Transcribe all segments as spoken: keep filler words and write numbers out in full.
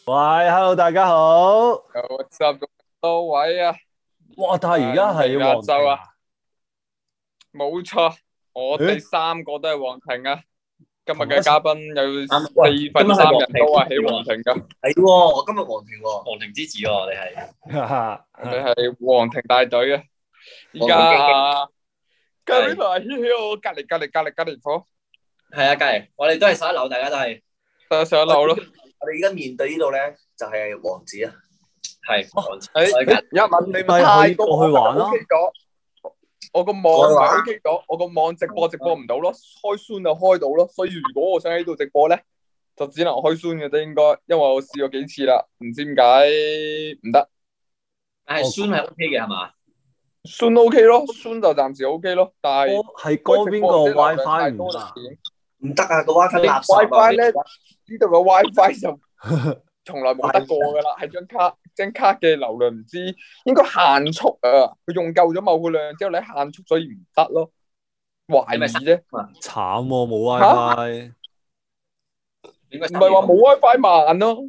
喂 ，hello， 大家好。 有十多位啊！ 哇，但係而家係黃州啊， 庭冇錯，我哋三個都係黃庭啊。今日嘅嘉賓有四分三人都係喺黃庭噶。 係喎，我今日黃庭喎， 黃庭之子喎，我哋係。 我哋係黃庭大隊啊！而家啊，隔籬台喺我隔籬隔籬隔籬隔籬房。 係啊，隔籬，我哋都係上一樓，大家都係都上一樓咯。 我哋而家面對呢度咧，就係王子啊。 係王子。 誒，一問你咪可以過去玩咯。 我個網唔係 OK 咗，我個網直播直播唔到咯，開 Zoom 就開到咯。所以如果我想喺度直播咧，就只能開 Zoom 嘅啫，應該，因為我試過幾次啦，唔知點解唔得。 但係 Zoom 係 OK 嘅係嘛 ？Zoom OK 咯 ，Zoom 就暫時 OK 咯，但係係嗰邊個 WiFi 唔得， 唔得啊！個 WiFi 垃圾啊 ！WiFi 咧，呢度個 WiFi 就從來冇得過噶啦，係張卡張卡嘅流量唔知應該限速啊，佢用夠咗某個量之後，你限速所以唔得咯，懷疑啫。 慘喎，冇 WiFi。 唔係話冇 WiFi 慢咯，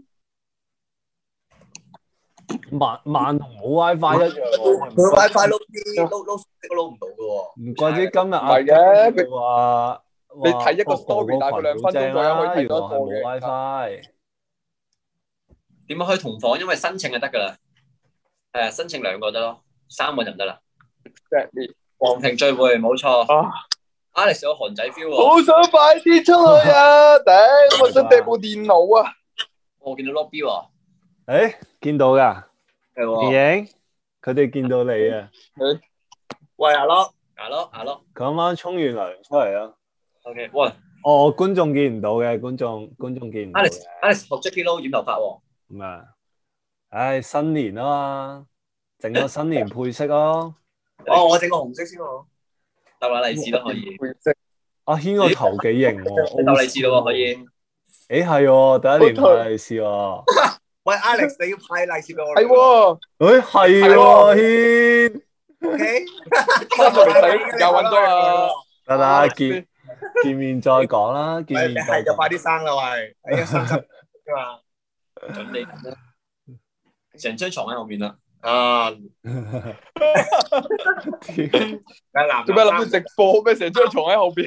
慢慢同冇 WiFi 一樣喎。 佢 WiFi 撈啲撈撈都撈唔到噶喎。 唔怪之今日唔係嘅，佢話你睇一個 story 大概兩分鐘左右可以睇到一個嘅。 冇 WiFi。 點樣可以同房？因為申請就得噶啦。係啊，申請兩個得咯，三個就唔得啦。黃庭聚會冇錯。Alex 有韓仔 feel 喎。 好想快啲出去啊！頂，我想掟部電腦啊！ 我見到 lobby 喎。 誒，見到㗎。 係喎。 電影，佢哋見到你啊。 喂，阿樂， 阿樂，阿樂。 佢啱啱沖完涼出嚟啊。 OK，喂。 哦，觀眾見唔到嘅，觀眾觀眾見唔到嘅。 Alex，Alex 學 Jackie Lou 染頭髮喎。 咁啊，唉，新年啊嘛，整個新年配色咯。 哦，我整個紅色先喎。 逗下利是都可以。 阿軒個頭幾型喎， 逗利是咯喎可以。 誒係喎，第一年派利是喎。 喂 ，Alex，你要派利是俾我。 係喎。 誒係喎，軒。 OK。 三個嚟睇，又揾咗啊。 得啦，見見面再講啦，見面係就快啲生啦喂，係啊，生生㗎嘛。 準你成張床喺後面啦。 啊！ 做咩諗住直播咩？成張床喺後邊。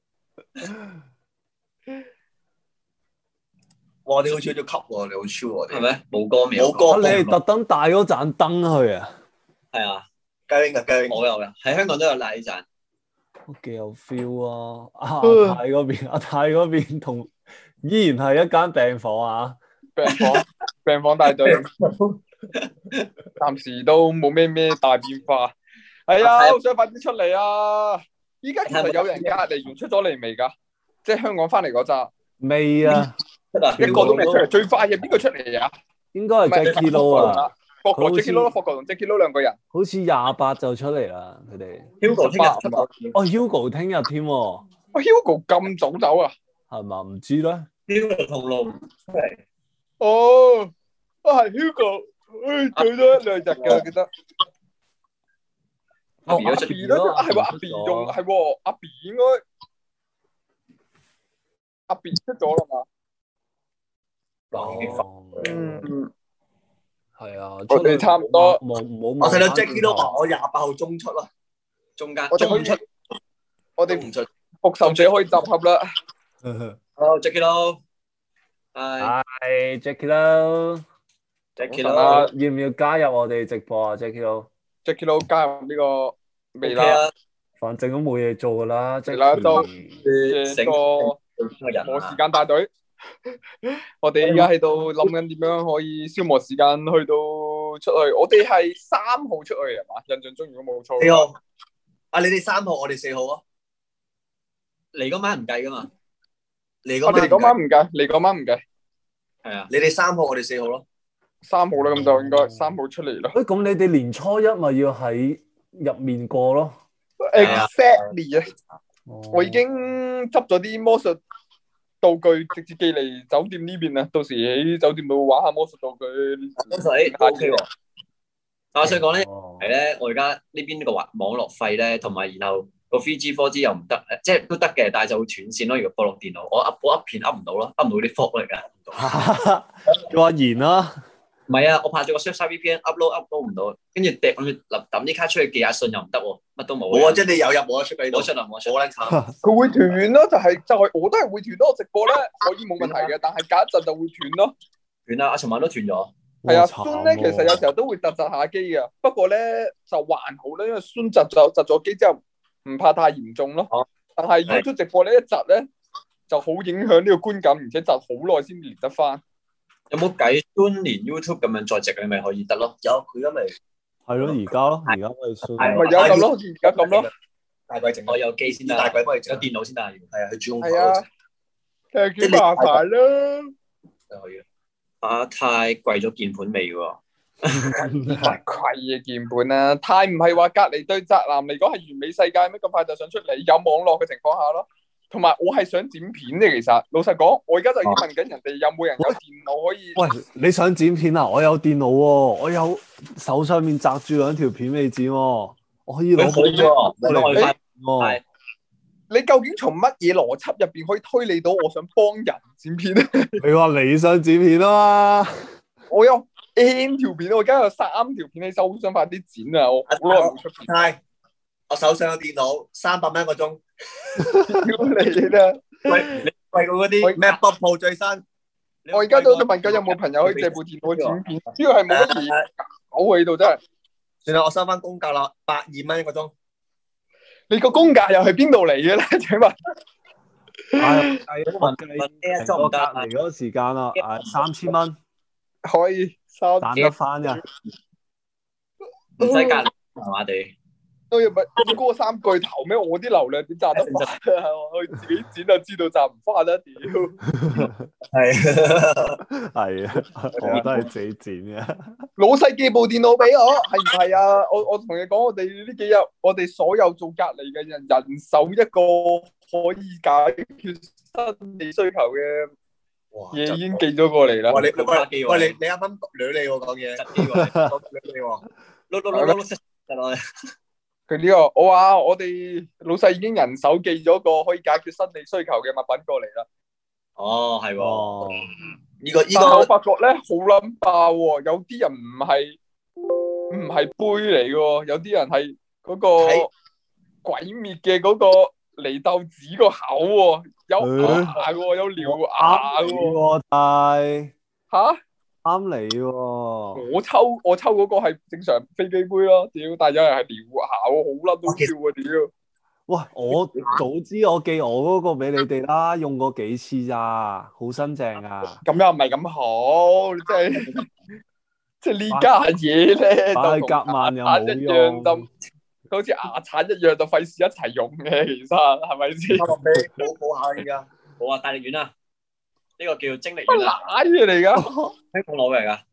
哇！你好似咗級喎，你好超喎， 係咪？冇歌名。 冇歌。 你係特登帶嗰盞燈去啊？ 係啊， 雞 wing 啊雞 wing。 我有嘅，喺香港都有賴呢盞。 都幾有 feel 啊！阿泰嗰邊，阿泰嗰邊同依然係一間病房啊。 病房，病房大隊，暫時都冇咩咩大變化。係啊，好想快啲出嚟啊！依家其實有人隔離完出咗嚟未㗎？即係香港翻嚟嗰扎。 未啊， 一個都未出嚟。最快嘅邊個出嚟啊？ 應該係 Jackie Lou 啊， 霍哥 Jackie Lou 霍哥同 Jackie Lou 兩個人。 好似廿八就出嚟啦，佢哋。 Hugo 聽日出哦 ，Hugo 聽日添喎。 哦 ，Hugo 咁早走啊？ 係嘛？唔知咧。 Hugo 同路出嚟。 哦，啊係 Hugo，誒做咗一兩日嘅，記得。 阿 B 都出咗咯，係喎，阿 B 用係喎，阿 B 應該阿 B 出咗啦嘛。 嗯， 係啊， 我哋差唔多。 冇冇。 我睇到 Jackie 都話我廿八號中出咯， 中間。 我哋可以出，我哋唔出，復仇者可以集合啦。 好 Jackie Lou。係 Jackie Lou，Jackie Lou，要唔要加入我哋直播啊 ？Jackie Lou，Jackie Lou 加入呢個未啦， 反正都冇嘢做噶啦， 係啦，就成個冇時間大隊。我哋而家喺度諗緊點樣可以消磨時間去到出去。我哋係三號出去係嘛？印象中如果冇錯。 四號。啊，你哋三號，我哋四號啊。 嚟嗰晚唔計噶嘛。 嚟嗰我哋嗰晚唔計，嚟嗰晚唔計。 係啊， 你哋三號，我哋四號咯。 三號啦，咁就應該三號出嚟咯。 誒，咁你哋年初一咪要喺入面過咯 ？Exactly 啊！我已經執咗啲魔術道具，直接寄嚟酒店呢邊啦。到時喺酒店度玩下魔術道具。 魔術 O K 喎。但我想講咧，係咧，我而家呢邊呢個網網絡費咧，同埋然後。個 three G、four G 又唔得，即係都得嘅，但係就會斷線咯。如果播落電腦，我 up 我 up 片 up 唔到咯，up 唔到啲 fault 嚟㗎，唔到。 叫阿賢啦。 唔係啊，我拍咗個 Surfside V P N，upload upload 唔到，跟住掟諗住抌啲卡出去寄下信又唔得喎，乜都冇。 冇啊，即係你有入冇得出俾你。 冇出啊，冇出。 好撚慘。 佢會斷咯，就係就係我都係會斷咯。我直播咧可以冇問題嘅，但係隔一陣就會斷咯。 斷啦，阿尋晚都斷咗。 係啊，孫咧其實有時候都會窒窒下機嘅，不過咧就還好啦，因為孫窒咗窒咗機之後唔怕太嚴重咯。 啊、 但係 YouTube 直播呢一窒咧就好影響呢個觀感，而且窒好耐先連得翻。 有冇計孫連 YouTube 咁樣再直，你咪可以得咯？ 有佢而家咪係咯，而家咯，而家可以孫。 咪有咁咯，而家咁咯。 大鬼整， 我有機先得， 大鬼幫你整， 有電腦先得。係啊，佢主控台。 係啊，誒幾麻煩啦。 就可以。 啊，太貴咗鍵盤味喎。 太貴嘅鍵盤啦，太唔係話隔離對宅男嚟講係完美世界咩？咁快就想出嚟有網絡嘅情況下咯。同埋我係想剪片嘅，其實老實講，我而家就已經問緊人哋有冇人有電腦可以。 喂，你想剪片啊？我有電腦喎，我有手上面揸住兩條片未剪喎，我可以攞部嚟剪喎。 你究竟從乜嘢邏輯入邊可以推理到我想幫人剪片咧？ 你話你想剪片啊嘛？ 我有 N 條片，我而家有三條片喺手，好想快啲剪啊！我好耐冇出片。 係，我手上有電腦，三百蚊一個鐘。 屌你啦！ 喂，你貴過嗰啲 MacBook Pro 最新。 我而家都問緊有冇朋友可以借部電腦剪片，主要係冇乜嘢搞喺度真係。 算啦，我收翻公價啦，百二蚊一個鐘。 你個公價又係邊度嚟嘅咧？請問？ 係計問計成個隔離嗰個時間啦，誒三千蚊可以收賺得翻㗎， 唔使隔離麻麻地。 都要咪嗰三句頭咩？我啲流量點賺得翻啊？我自己剪就知道賺唔翻啦！屌， 係係啊，我都係自己剪嘅。 老細寄部電腦俾我，係唔係啊？我我同你講，我哋呢幾日，我哋所有做隔離嘅人，人手一個可以解決生理需求嘅嘢已經寄咗過嚟啦。 喂，你喂喂，你你啱啱捋你喎講嘢，捋你喎， 碌碌碌碌得啦。 佢呢個我話我哋老細已經人手寄咗個可以解決生理需求嘅物品過嚟啦。 哦，係喎， 呢個呢但係我個發覺咧好撚爆喎，有啲人唔係唔係杯嚟嘅喎，有啲人係嗰個鬼滅嘅嗰個離豆子個口喎，有牙嘅喎，有獠牙嘅喎， 但嚇？ 啱你喎！ 我抽我抽嗰個係正常飛機杯咯，屌！但係有人係獠牙喎，好撚都笑啊，屌！ 喂，我早知我寄我嗰個俾你哋啦，用過幾次咋，好新淨啊！ 咁又唔係咁好，即係即係呢家嘢咧， 擺就夾萬又牙刷一樣冇用， 就好似牙刷一樣，就費事一齊用嘅，其實係咪先？ 好好下而家， 好啊，大力丸啊，呢個叫精力乜丸啊， 奶嘢嚟噶？ 香港攞嚟噶。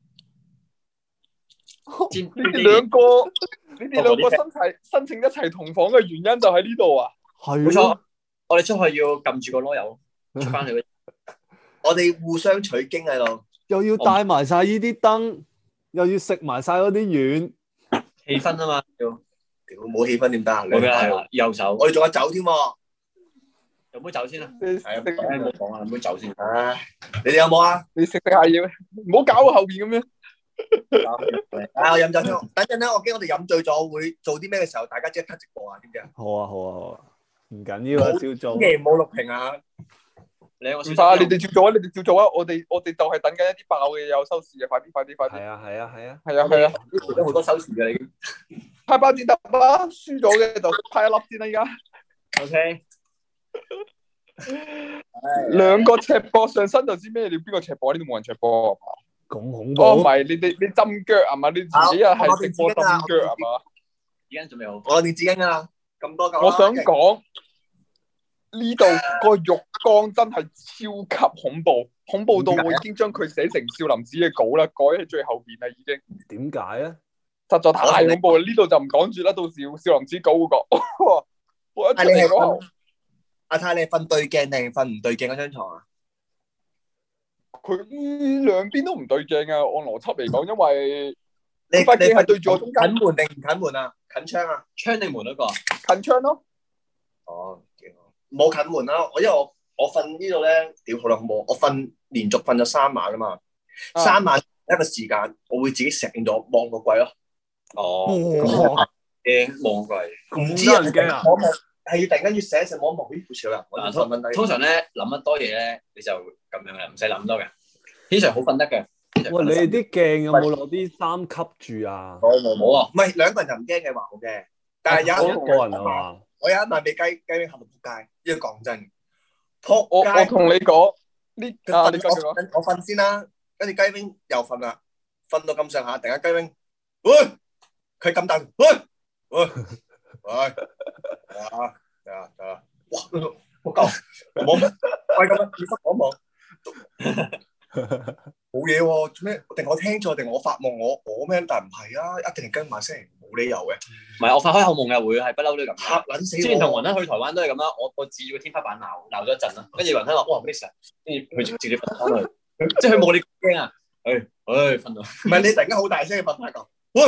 你哋兩個，你哋兩個申請申請一齊同房嘅原因就喺呢度啊？ 係冇錯，我哋出去要撳住個囉柚出翻去。 我哋互相取經喺度， 又要帶埋晒呢啲燈，又要食埋晒嗰啲丸， 氣氛啊嘛，要屌冇氣氛點得啊？ 冇啦，右手， 我哋仲有酒添喎， 有冇酒先啊？ 係啊， 唔好講啊，有冇酒先？ 唉，你哋有冇啊？ 你食食下嘢咩？唔好搞我後邊咁樣。 啊，我飲酒先，等陣咧，我驚我哋飲醉咗會做啲咩嘅時候，大家即刻 cut 直播啊？知唔知啊？ 好啊好啊好啊，唔緊要啊，照做。 千祈唔好錄屏啊！ 你我唔怕，你哋照做啊！你哋照做啊！我哋我哋就係等緊一啲爆嘅有收視嘅，快啲快啲快啲！ 係啊係啊係啊， 係啊係啊， 呢度都好多收視嘅已經。 派包剪揼啦，輸咗嘅就派一粒先啦，而家。 O K。 兩個赤膊上身就知咩？你邊個赤膊？呢度冇人赤膊啊嘛？ 咁恐怖！ 哦，唔係，你哋你浸腳啊嘛？你自己啊係直播浸腳啊嘛？ 而家準備好。 我哋紙巾啊，咁多嚿。 我想講呢度個浴缸真係超級恐怖，恐怖到我已經將佢寫成少林寺嘅稿啦，改喺最後邊啦已經。 點解咧？ 實在太恐怖啦！呢度就唔講住啦，到時少林寺稿會講。我一出嚟講， 阿太你係瞓對鏡定瞓唔對鏡嗰張床啊？ 佢兩邊都唔對鏡啊！按邏輯嚟講，因為你塊鏡係對住我中間， 近門定唔近門啊？近窗啊？ 窗定門嗰個？ 近窗咯。 哦，幾好。冇近門啦，我因為我我瞓呢度咧，屌好啦，恐怖！我瞓連續瞓咗三晚啊嘛， 啊三晚一個時間，我會自己醒咗望個櫃咯。 哦， 哇， 驚望櫃。 唔知咁得人驚啊！ 望一望係突然間要醒一醒望一望，咦好似有人，我就嗱， 瞓瞓低。 通通常咧諗得多嘢咧，你就咁樣啦，唔使諗多嘅。天常好瞓得嘅。 喂，你哋啲鏡有冇攞啲衫吸住啊？ 冇冇冇啊！ 唔係兩個人就唔驚嘅話好嘅，但係有一一個人啊嘛？ 我有一晚俾雞雞 wing 嚇到撲街，呢個講真， 我我撲街。 同你講呢啊， 佢瞓你繼續講。 我我瞓先啦，跟住雞 wing 又瞓啦，瞓到咁上下，突然間雞 wing，喂，佢咁大，喂喂喂，啊啊啊！哇，我夠冇乜，喂咁樣，你忽望一望，冇嘢喎，做咩？定我聽錯，定我發夢？我我咩？但係唔係啊，一定係跟埋聲，冇理由嘅。 唔係我發開口夢嘅會係不嬲都咁。 嚇撚死我！ 之前同雲吞去台灣都係咁啦，我我指住個天花板鬧鬧咗一陣啦，跟住雲吞話：哇咩事啊？跟住佢直接瞓翻去，即係佢冇你驚啊！誒誒瞓到。 唔係你突然間好大聲嘅瞓下覺，喂！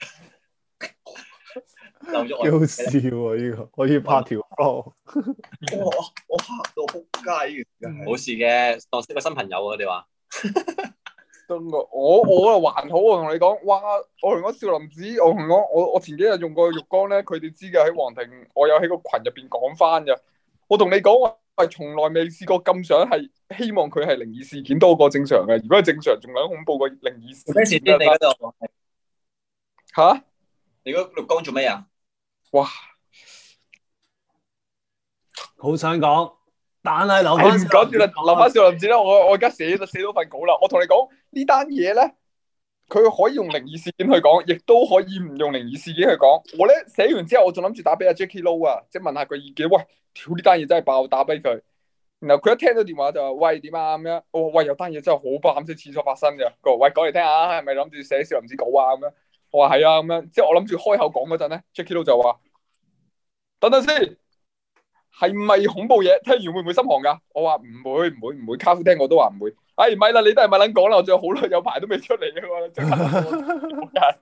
漏咗幾好笑喎！呢個可以拍條 vlog。 我我嚇到撲街嘅， 冇事嘅，當識個新朋友啊！我哋話真個，我我啊還好，我同你講，哇！我同講少林寺，我同講我我前幾日用過浴缸咧，佢哋知嘅喺皇庭，我有喺個群入邊講翻嘅。我同你講，我係從來未試過咁想係希望佢係靈異事件多過正常嘅。如果係正常，仲有恐怖過靈異事件。 咩事先？你嗰度嚇？ 你嗰浴缸做咩啊？ 哇！ 好想講，但係留唉翻唔講住啦，留翻少林寺啦。我我而家寫都寫到份稿啦。我同你講呢單嘢咧，佢可以用靈異事件去講，亦都可以唔用靈異事件去講。我咧寫完之後，我仲諗住打俾阿 Jacky Lou 啊，即係問下佢意見。喂，屌呢單嘢真係爆，打俾佢。然後佢一聽到電話就話：喂點啊咁樣。我話喂有單嘢真係好爆，喺廁所發生嘅。佢話喂講嚟聽下，係咪諗住寫少林寺稿啊咁樣？我話係啊咁樣。之後我諗住開口講嗰陣咧 ，Jacky Lou 就話：等等先。係唔係恐怖嘢？聽完會唔會心寒噶？我話唔會，唔會，唔會。卡夫聽我都話唔會。哎，唔係啦，你都係咪撚講啦？我仲有好耐有排都未出嚟嘅嘛，即刻。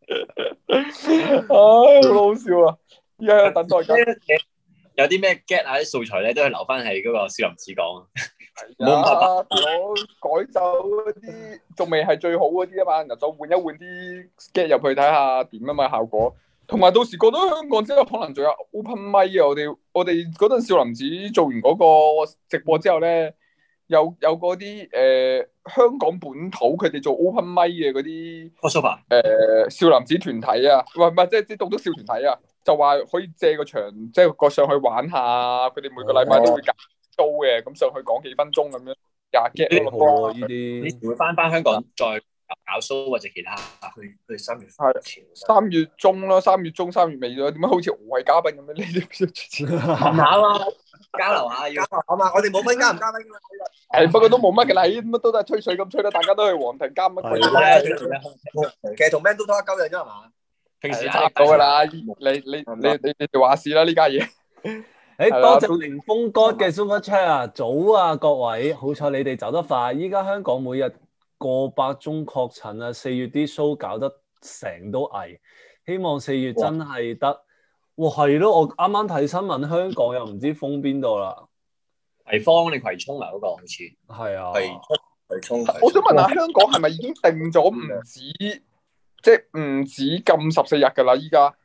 唉，好好笑啊！依家喺度等待緊。 有啲咩 get 啊啲素材咧，都係留翻喺嗰個少林寺講。 冇啊！我改走嗰啲仲未係最好嗰啲啊嘛，然後就換一換啲 get 入去睇下點啊嘛效果。同埋到時過到香港之後，可能仲有 open mic 啊！我哋我哋嗰陣少林寺做完嗰個直播之後咧，有有嗰啲誒香港本土佢哋做 open mic 嘅嗰啲誒少林寺團體啊，唔係唔係即係啲棟篤笑團體啊，就話可以借個場，即係過上去玩下。佢哋每個禮拜都會搞 show 嘅，咁上去講幾分鐘咁樣廿 get 咯。呢啲呢時會翻翻香港再搞 show 或者其他。 佢佢三月係三月中啦，三月中三月尾咗，點解好似我係嘉賓咁樣？呢啲問下啊，交流下要。 好嘛，我哋冇分嘉唔嘉賓㗎嘛。 係不過都冇乜嘅啦，乜都都係吹水咁吹啦，大家都係皇庭加乜鬼嘢。 其實同 Man 都多一鳩人啫係嘛？ 平時差唔多㗎啦，你你你你你哋話事啦呢家嘢。 誒，多謝凌風哥嘅 Super Chat 啊！早啊各位，好彩你哋走得快。依家香港每日過百宗確診啊，四月啲 show 搞得成都危，希望四月真係得。哇，係咯，我啱啱睇新聞，香港又唔知封邊度啦。 葵芳定葵涌啊？嗰個好似係啊， 葵葵涌。 我想問下，香港係咪已經定咗唔止，即係唔止禁十四日㗎啦？依家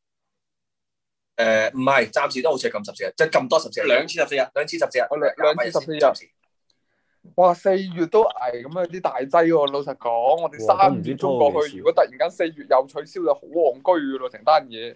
誒唔係，暫時都好似係禁十四日，即係咁多十四日， 兩次十四日， 兩次十四日， 兩兩次十四日。哇！四月都危咁啊，啲大劑喎。老實講，我哋三月中過去，如果突然間四月又取消，就好戇居㗎咯，成單嘢。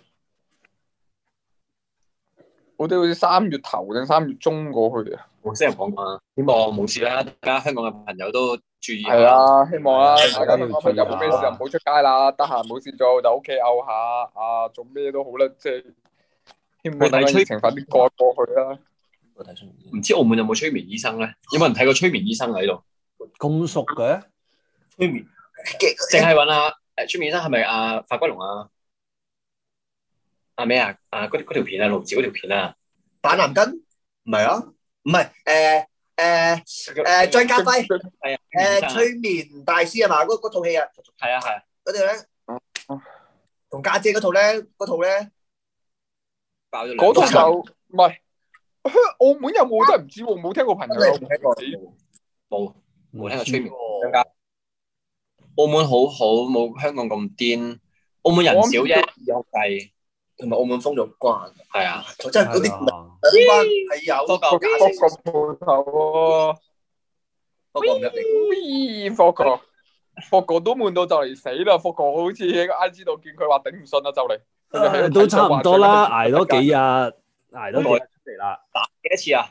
我哋好似三月頭定三月中過去啊。 冇先人講啊，希望冇事啦。大家香港嘅朋友都注意下。 係啊，希望啦，大家都都有冇咩事就唔好出街啦，得閒冇事做就屋企漚下啊，做咩都好啦，即係希望大家疫情快啲過過去啦。 唔知澳門有冇催眠醫生咧？有冇人睇過催眠醫生喺度？ 咁熟嘅催眠， 淨係揾阿誒催眠醫生係咪阿法骨龍啊？阿咩啊？啊嗰嗰條片啊，盧子嗰條片啊， 板藍根唔係啊，唔係誒誒誒張家輝係啊， 誒催眠大師係嘛？嗰嗰套戲啊， 係啊係啊， 嗰條咧同家姐嗰套咧，嗰套咧爆咗嗰套就唔係。澳門有冇真係唔知喎，冇聽過朋友有冇聽過。 冇冇聽過催眠更加。澳門好好，冇香港咁癲。澳門人少啫，有計。 同埋澳門封咗關。 係啊， 真係嗰啲關係有個個鋪頭喎。 不過唔入嚟。 喂，霍哥，霍哥都悶到就嚟死啦！霍哥好似喺個 I G 度見佢話頂唔順啦，就嚟。 誒都差唔多啦，捱多幾日，捱多幾日出嚟啦。 打幾多次啊？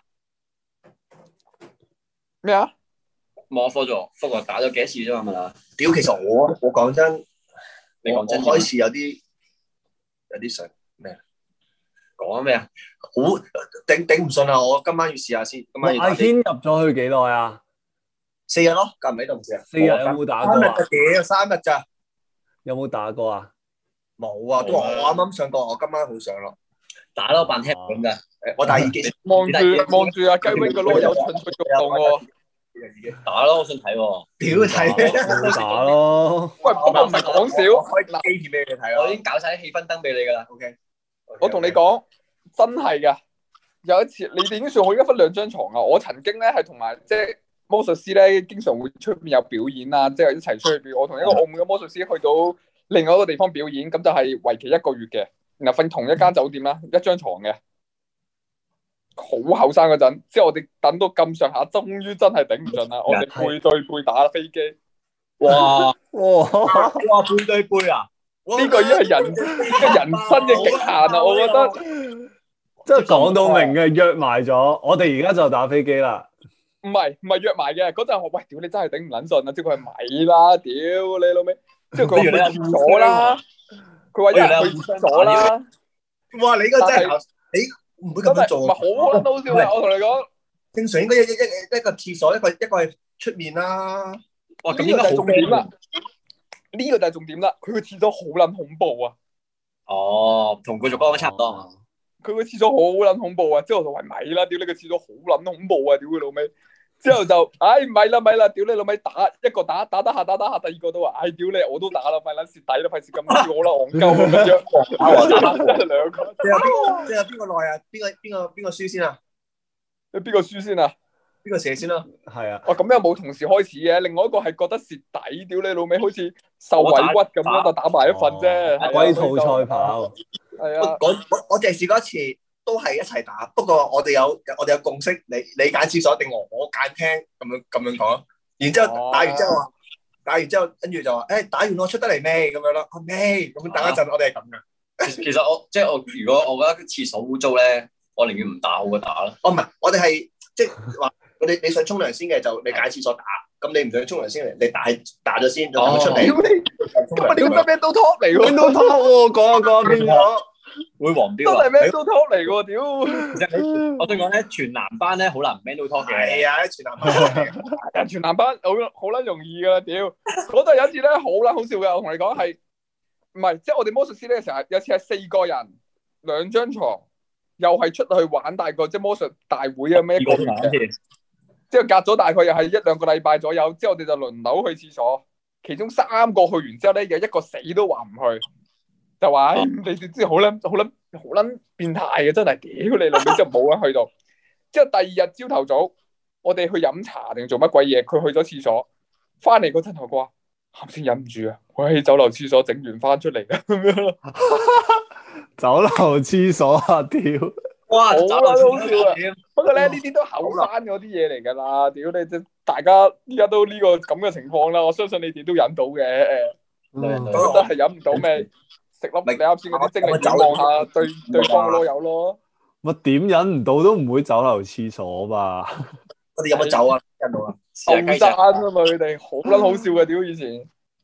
咩啊？ 冇科咗，霍哥打咗幾多次啫嘛？係咪啊？ 屌，其實我我講真， 你講真， 我開始有啲有啲想咩？ 講咩啊？ 好頂頂唔順啊！我今晚要試下先。今晚要阿軒入咗去幾耐啊？ 四日咯，隔唔喺度唔知啊。 四日有冇打過啊？ 三日屌，三日咋？ 有冇打過啊？ 冇啊，都話我啱啱上過，我今晚好想咯。 打咯，扮聽咁噶。 誒，我戴耳機。 望住望住阿雞 wing 個囉柚蠢蠢欲動喎。 打咯，我想睇喎。 屌睇， 打咯。 喂，不過唔係講笑， 開機片俾你睇啊！ 我已經搞晒啲氣氛燈俾你噶啦。 OK， 我同你講，真係噶。有一次，你哋已經算好一分兩張床啊！我曾經咧係同埋即係魔術師咧，經常會出面有表演啊，即係一齊出去表演。我同一個澳門嘅魔術師去到另外一個地方表演，咁就係為期一個月嘅，然後瞓同一間酒店啦，一張床嘅。好後生嗰陣，之後我哋等到咁上下，終於真係頂唔順啦！我哋背對背打飛機， 哇哇哇背對背啊！ 呢個已經係人嘅人生嘅極限啦！我覺得， 即係講到明嘅，約埋咗，我哋而家就打飛機啦。 唔係唔係約埋嘅，嗰陣我喂屌你真係頂唔撚順啊！之後佢係咪啦？屌你老味！之後佢話去廁所啦，佢話一人去廁所啦。 哇！你嗰個真係你。唔會咁樣做， 唔係好撚好笑嘅。我同你講， 正常應該一一一一個廁所，一個一個係出面啦。 哇！咁呢個就係重點啦。呢個就係重點啦。佢個廁所好撚恐怖啊！ 哦，同佢做光差唔多啊。 佢個廁所好撚恐怖啊！之後我就話咪啦，屌你個廁所好撚恐怖啊！屌佢老味。之後就，唉咪啦咪啦，屌你老味打一個打打得下打得下，第二個都話，唉屌你我都打啦，咪撚蝕底啦，費事咁笑我啦，戇鳩咁樣。打我打真係兩個。 即係邊即係邊個耐啊？邊個邊個邊個輸先啊？ 你邊個輸先啊？ 邊個射先啦？ 係啊。 哦，咁又冇同時開始嘅，另外一個係覺得蝕底，屌你老味，好似受委屈咁樣就打埋一份啫。 龜兔賽跑。 係啊。 我我我淨係試過一次。都係一齊打，不過我哋有我哋有共識，你你揀廁所定我我揀廳咁樣咁樣講，然之後打完之後話，哦、打完之後跟住就話，誒、欸、打完我出得嚟未咁樣咯，未咁等一陣，我哋係咁噶。 其實我即係我如果我覺得廁所污糟咧，我寧願唔打好過打啦。 哦唔係，我哋係即係話，我哋你想沖涼先嘅就你揀廁所打，咁你唔想沖涼先嚟，你打打咗先，就等佢出嚟。 咁啊，呢個咩都 top 嚟喎， 咩都 top 喎，講下講下變咗。 會黃標都係 man 都 talk 嚟喎，屌！ 我對講咧，全男班咧好難 man 都 talk 嘅。 係啊，全男班， 人全男班好好撚容易噶啦，屌！嗰度有一次咧好撚好笑嘅，我同你講係，唔係即係我哋魔術師咧成日有次係四個人兩張床，又係出去玩大個即係魔術大會啊咩一個月嘅，之後隔咗大概又係一兩個禮拜左右，之後我哋就輪流去廁所，其中三個去完之後咧，有一個死都話唔去。就話、哎、你哋知好撚好撚好撚變態嘅，真係屌你老味，之後冇人去到。之後第二日朝頭早，我哋去飲茶定做乜鬼嘢？佢去咗廁所，翻嚟嗰陣我話啱先忍唔住啊！我喺酒樓廁所整完翻出嚟嘅咁樣咯。 酒樓廁所啊！屌， 哇， 好撚好笑啊！不過咧呢哦啲都後生嗰啲嘢嚟㗎啦，屌你即大家依家都呢個咁嘅情況啦，我相信你哋都忍到嘅。 嗯、 我覺得係忍唔到咩？食粒你啱先嗰啲精力點望下對對方嘅囉柚咯。 乜點忍唔到都唔會酒樓廁所吧？ 我哋有乜酒啊？忍到啊！ 後生啊嘛，佢哋好撚好笑嘅，屌以前。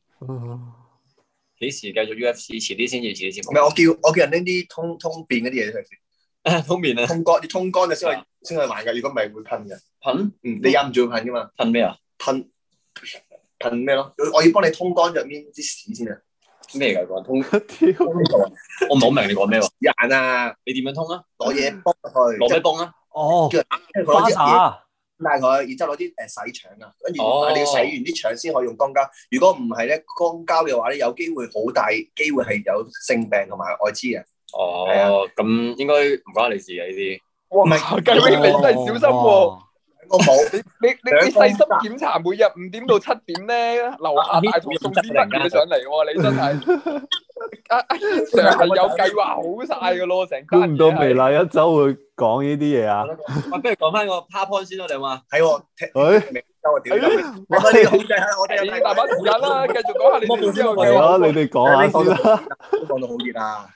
幾時繼續 U F C？遲啲先至，遲啲先。 唔係我叫我叫人拎啲通通便嗰啲嘢出嚟先。 通便啊！ 通乾要通乾嘅先去先去玩嘅，如果唔係會噴嘅。 噴？ 嗯，你忍唔住會噴噶嘛？ 噴咩啊？ 噴噴咩咯？我要幫你通乾入面啲屎先啊！ 咩嚟㗎？通屌， 我唔係好明你講咩喎？ 眼啊！ 你點樣通啊？ 攞嘢幫佢， 攞咩幫啊？ 哦， 叫人花灑， 拉佢，然之後攞啲誒洗腸啊，跟住你要洗完啲腸先可以用肛交。如果唔係咧，肛交嘅話咧，有機會好大機會係有性病同埋愛滋嘅。 哦，咁應該唔關你事嘅呢啲。 哇，雞 wing 你真係小心喎！ 我冇。 你你你你細心檢查，每日五點到七點咧，樓下大堂送啲乜嘢上嚟喎？你真係阿阿軒 Sir 係有計劃好晒噶咯，成估唔到微辣一周會講呢啲嘢啊！ 喂，不如講翻個 PowerPoint 先咯，你話？ 係喎， 誒， 微周啊，屌！我哋控制下，我哋你大把時間啦，繼續講下你哋之後係啊，你哋講下先啦。 都講到好熱啊！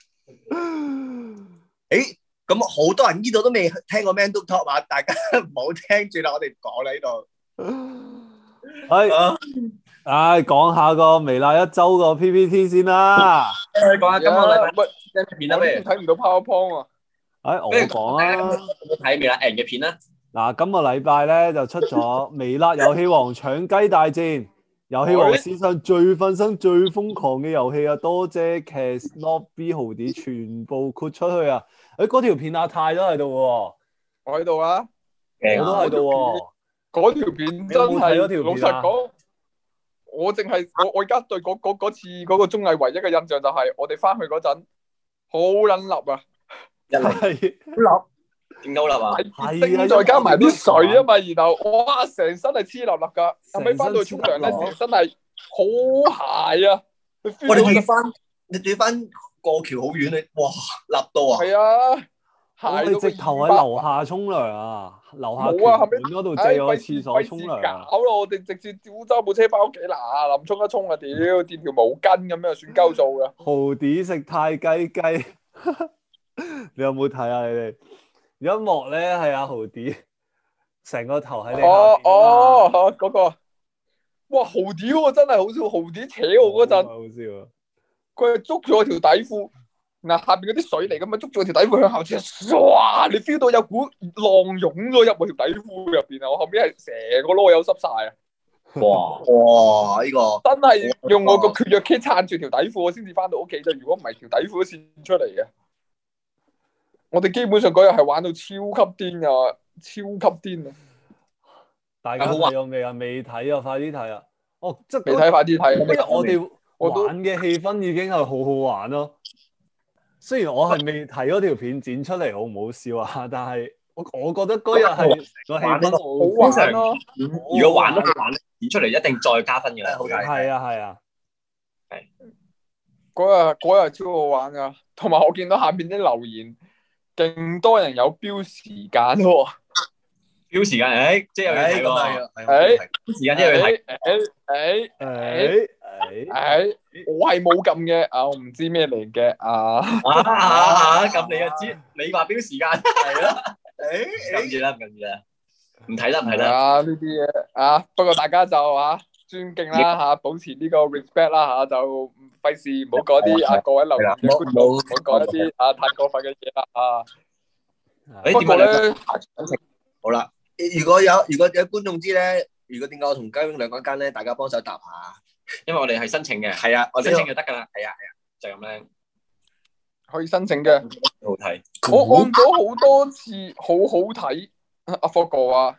誒，咁好多人呢度都未聽過 Man Talk 啊，大家唔好聽住啦，我哋唔講啦呢度。 係，唉，講下個微辣一周個 P P T 先啦。 講下今個禮拜乜片啦，咩睇唔到 PowerPoint 啊？ 誒，我講啦。 有冇睇微辣人嘅片啦？ 嗱，今個禮拜咧就出咗微辣遊戲王搶雞大戰，遊戲王史上最瞓身、最瘋狂嘅遊戲啊！多謝 Cas Nobby 豪啲全部豁出去啊！誒，嗰條片阿泰都喺度喎， 我喺度啊， 我都喺度喎。 嗰條片真係，老實講，我淨係我我而家對嗰嗰嗰次嗰個綜藝唯一嘅印象就係我哋翻去嗰陣好撚笠啊， 係好點鳩笠啊？ 係啊，再加埋啲水啊嘛，然後哇，成身係黐立立噶，後尾翻到去沖涼咧，成身係好鞋啊！ 我哋仲要翻，你仲要翻過橋好遠你，哇，立到啊！ 係啊， 我哋直頭喺樓下沖涼啊，樓下冇啊，後尾嗰度借我廁所沖涼啊！ 搞咯，我哋直接招揸部車翻屋企嗱，臨沖一沖啊，屌，墊條毛巾咁樣算鳩數噶。 豪啲食太雞雞，你有冇睇啊？你哋？有一幕咧係阿豪啲成個頭喺你下邊哦哦，嗰個，哇豪啲喎，真係好笑，豪啲扯我嗰陣， 好笑啊！ 佢係捉住我條底褲，嗱下邊嗰啲水嚟噶嘛，捉住我條底褲向後穿，哇！你 feel 到有股浪湧咗入我條底褲入邊啊！我後邊係成個囉柚濕晒啊！ 哇哇！呢個真係用我個血藥 kit 撐住條底褲，我先至翻到屋企啫。如果唔係條底褲都跣出嚟嘅。我哋基本上嗰日係玩到超級癲啊，超級癲啊！ 大家睇咗未啊？未睇啊，快啲睇啊！哦，即係未睇，快啲睇。 因為我哋玩嘅氣氛已經係好好玩咯。雖然我係未睇嗰條片剪出嚟好唔好笑啊，但係我我覺得嗰日係個氣氛好玩咯。 如果玩都好玩，剪出嚟一定再加分嘅。 係啊係啊， 係。嗰日嗰日超好玩噶，同埋我見到下邊啲留言。勁多人有標時間喎， 標時間，誒，即係有嘢睇喎， 誒， 標時間即係有嘢睇， 誒誒誒誒，我係冇撳嘅，啊，我唔知咩嚟嘅，啊， 啊啊，撳你就知，你話標時間係咯，誒，撳住啦，唔撳住啦，唔睇啦，唔睇啦， 啊，呢啲嘢啊，不過大家就啊尊敬啦嚇，保持呢個 respect 啦嚇，就費事唔好講啲啊各位留言嘅觀眾，唔好講一啲啊太過分嘅嘢啦啊！不過咧， 好啦，如果有如果有觀眾知咧，如果點解我同雞 wing 兩個間咧，大家幫手答下， 因為我哋係申請嘅， 係啊，我申請就得㗎啦，係啊係啊，就咁咧， 可以申請嘅， 好睇， 我按咗好多次，好好睇，阿霍哥啊！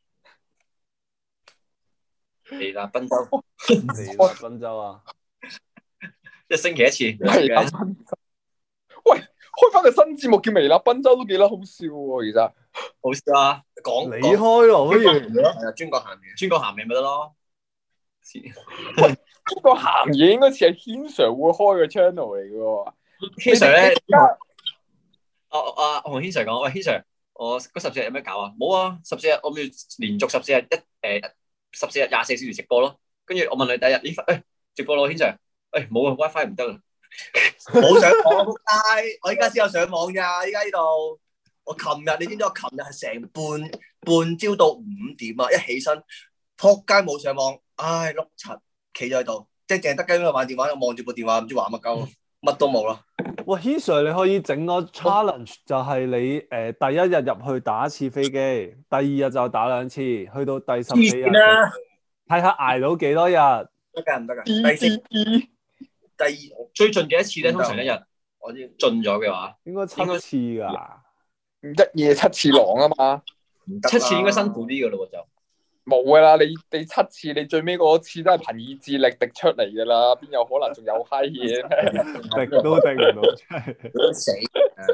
微辣賓州， 微辣賓州啊！ 一星期一次。 微辣賓州，喂，開翻個新節目叫微辣賓州都幾得好笑喎，其實好笑啊！ 講你開咯，不如係啊，專講鹹嘢， 專講鹹嘢咪得咯。 喂，嗰個鹹嘢應該似係軒 Sir 會開嘅 channel 嚟嘅喎。 軒 Sir 咧，阿阿我同軒 Sir 講，喂，軒 Sir，我嗰十四日有咩搞啊？冇啊，十四日我咪連續十四日一誒。十四日廿四小時直播咯，跟住我問你第一日呢份，誒直播咯，軒 Sir，誒冇啊 WiFi 唔得啊， 冇上網，仆街！我依家先有上網咋，依家呢度。我琴日你知唔知？我琴日係成半半朝到五點啊，一起身，仆街冇上網，唉碌柒，企咗喺度，即係淨係得雞喺度玩電話，我望住部電話唔知玩乜鳩，乜都冇啦。 喂，軒 Sir 你可以整個 challenge，就係你誒、呃、第一日入去打一次飛機，第二日就打兩次，去到第十四日睇下捱到幾多日。 得㗎唔得㗎？第四第二最盡嘅一次咧，通常一日我知盡咗嘅話， 應該七次㗎， 一夜七次狼啊嘛， 七次應該辛苦啲㗎咯喎就。 冇㗎啦，你你七次，你最尾嗰次都係憑意志力滴出嚟㗎啦，邊有可能仲有閪嘢咩？ 滴都滴唔到出嚟， 死！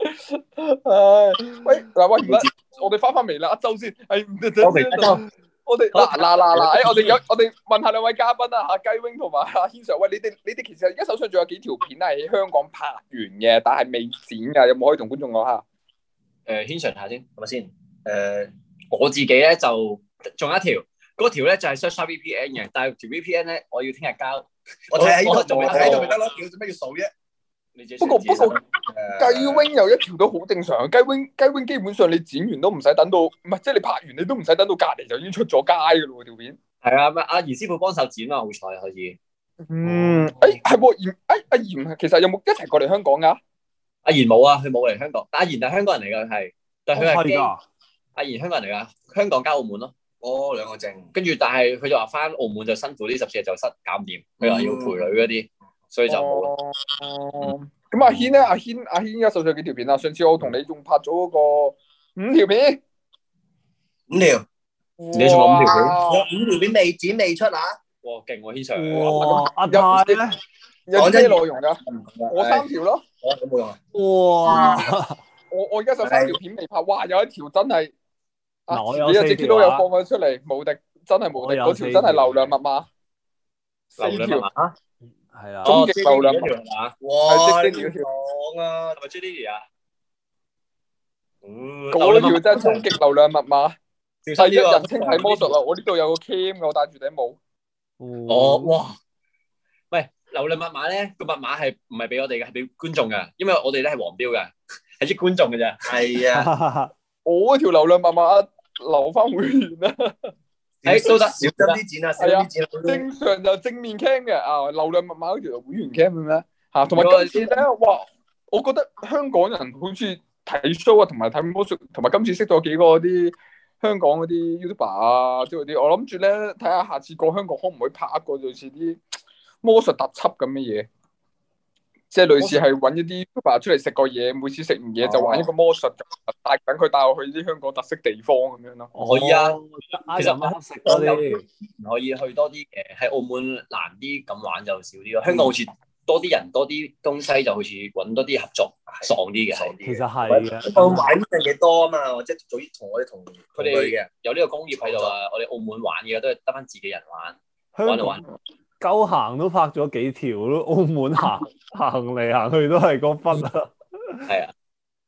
唉，喂，嗱喂，唔得，我哋翻翻微辣一周先，係唔得我微辣一周。 我哋嗱嗱嗱嗱，誒，我哋有我哋問下兩位嘉賓啊，嚇雞 wing 同埋阿軒 Sir，喂，你哋你哋其實而家手上仲有幾條片係喺香港拍完嘅，但係未剪㗎，有冇可以同觀眾講下？ 誒，軒 Sir 下先，係咪先？誒，我自己咧就仲有一條，嗰條咧就係 search V P N 嘅，但係條 V P N 咧我要聽日交。 我睇喺度， 仲未我睇喺度咪得咯，屌做咩要數啫？ 不過不過雞 wing 有一條都好正常，雞 wing 雞 wing 基本上你剪完都唔使等到，唔係即係你拍完你都唔使等到隔離就已經出咗街㗎咯喎條片。 係啊，阿嚴師傅幫手剪啊，好彩可以。 嗯，誒係喎，嚴誒阿嚴其實有冇一齊過嚟香港㗎？ 阿賢冇啊，佢冇嚟香港，但阿賢係香港人嚟㗎，係，但係佢係基。 㗎。 阿賢香港人嚟㗎，香港加澳門咯。 哦，兩個證。 跟住，但係佢就話翻澳門就辛苦啲，十四日就失搞唔掂。佢話要陪女嗰啲，所以就冇咯。 哦。咁阿軒咧，阿軒阿軒而家手上幾條片啊？上次我同你仲拍咗嗰個五條片， 五條， 你仲有五條片？ 有五條片未剪未出啊？ 哇，勁喎，軒 Sir！ 哇，阿泰咧， 有啲咩內容㗎？我三條咯。 我冇用啊！ 哇！ 我我而家就三條片未拍，哇！有一條真係，啊， 嗱我有你有四條啊隻 Q 都有放咗出嚟，無敵，真係無敵，嗰條真係流量密碼，四條， 流量密碼係啊， 終極流量密碼。 碼， 哇！ 係你要講啊？ 係咪 J D 啊？ 嗰條真係終極流量密碼，第一人稱睇魔術啦！我呢度有個 cam 嘅，我戴住頂帽。 哦，哇！喂，流量密碼咧，個密碼係唔係俾我哋嘅，係俾觀眾嘅，因為我哋咧係黃標嘅，係益觀眾嘅啫。 係啊， 我嗰條流量密碼留翻會員啦。 誒都得， 小心啲剪啊，小心啲剪啊。 正常就正面 cam 嘅啊，流量密碼嗰條會員 cam 嘅咩？嚇，同埋今次咧，哇！我覺得香港人好似睇 show 啊，同埋睇魔術，同埋今次識咗幾個啲香港嗰啲 YouTuber 啊，即係嗰啲，我諗住咧睇下下次過香港可唔可以拍一個類似啲魔術特輯咁嘅嘢，即係類似係揾一啲 YouTuber 出嚟食個嘢，每次食完嘢就玩一個魔術，帶等佢帶我去啲香港特色地方咁樣咯。 可以啊， 其實啱食嗰啲， 可以去多啲嘅，喺澳門難啲咁玩就少啲咯。香港好似多啲人多啲東西，就好似揾多啲合作爽啲嘅。 其實係嘅。 我玩呢樣嘢多啊嘛，即係早啲同我哋同佢哋嘅有呢個工業喺度啊。我哋澳門玩嘅都係得翻自己人玩，玩就玩。 鳩行都拍咗幾條咯，澳門行行嚟行去都係嗰分啊。 係啊。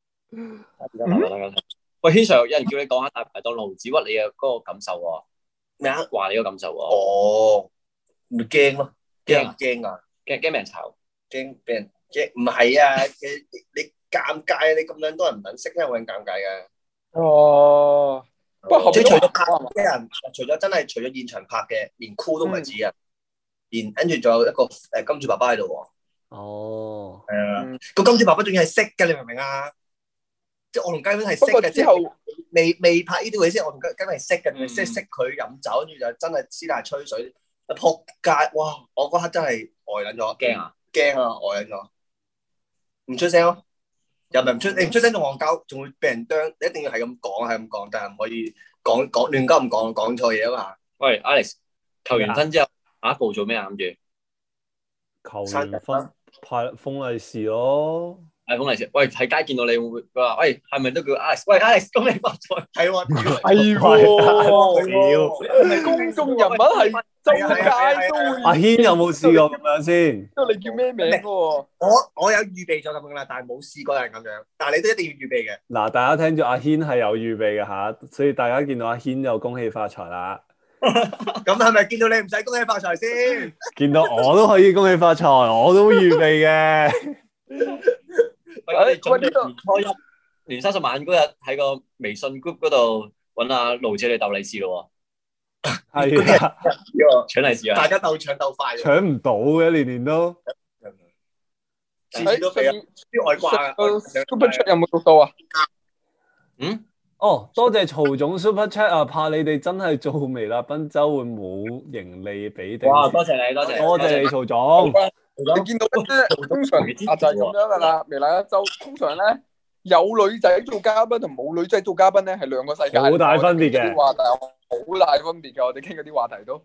喂，軒 Sir，有人叫你講下大排檔盧子屈你嘅嗰個感受喎。咩啊？話你個感受喎。 哦，咪驚咯，驚唔驚啊？ 驚驚俾人炒， 驚俾人驚，唔係啊！你你尷尬，你咁樣多人唔肯識，因為我咁尷尬嘅。 哦，不過後即係除咗拍邊啲人，除咗真係除咗現場拍嘅，連 crew 都唔係自己人，連跟住仲有一個誒金主爸爸喺度喎。 哦， 係啊，個金主爸爸仲要係識嘅，你明唔明啊？即係我同雞 wing 係識嘅， 之後未未拍呢啲位先，我同雞 wing 係識嘅，即係識佢飲酒，跟住就真係私底下吹水，一撲街！哇！我嗰刻真係呆撚咗， 驚啊！ 驚啊！呆撚咗，唔出聲咯，又唔係唔出，你唔出聲仲戇鳩，仲會俾人啄，你一定要係咁講，係咁講，但係唔可以講講亂鳩唔講，講錯嘢啊嘛。 喂 ，Alex，求完婚之後，下一步做咩啊？諗住求完婚派封利是咯。 派封利是。喂，喺街見到你會唔會佢話？喂，係咪都叫 Alex？喂 ，Alex，恭喜發財！ 係喎， 係喎，公眾人物係周街都會。 阿軒有冇試過咁樣先？ 因為你叫咩名喎？ 我我有預備咗咁樣啦，但係冇試過有人咁樣。但係你都一定要預備嘅。 嗱，大家聽住阿軒係有預備嘅嚇，所以大家見到阿軒就恭喜發財啦。 咁係咪見到你唔使恭喜發財先？ 見到我都可以恭喜發財，我都預備嘅。 喂，我哋準備年初一、年三十晚嗰日喺個微信 group 嗰度揾阿盧姐嚟鬥利是咯喎。 係啊， 搶利是啊！ 大家鬥搶鬥快， 搶唔到嘅，年年都。 次次都俾啲外掛啊 ！Super Chat 有冇讀到啊？ 嗯？ 哦，多謝曹總 Super Chat 啊！怕你哋真係做微辣賓州會冇盈利俾定。 哇！多謝你，多謝多謝你，曹總。 你見到咧，通常啊就係咁樣噶啦。微辣一周通常咧有女仔做嘉賓同冇女仔做嘉賓咧係兩個世界， 好大分別嘅。 啲話題好大分別嘅，我哋傾嗰啲話題都。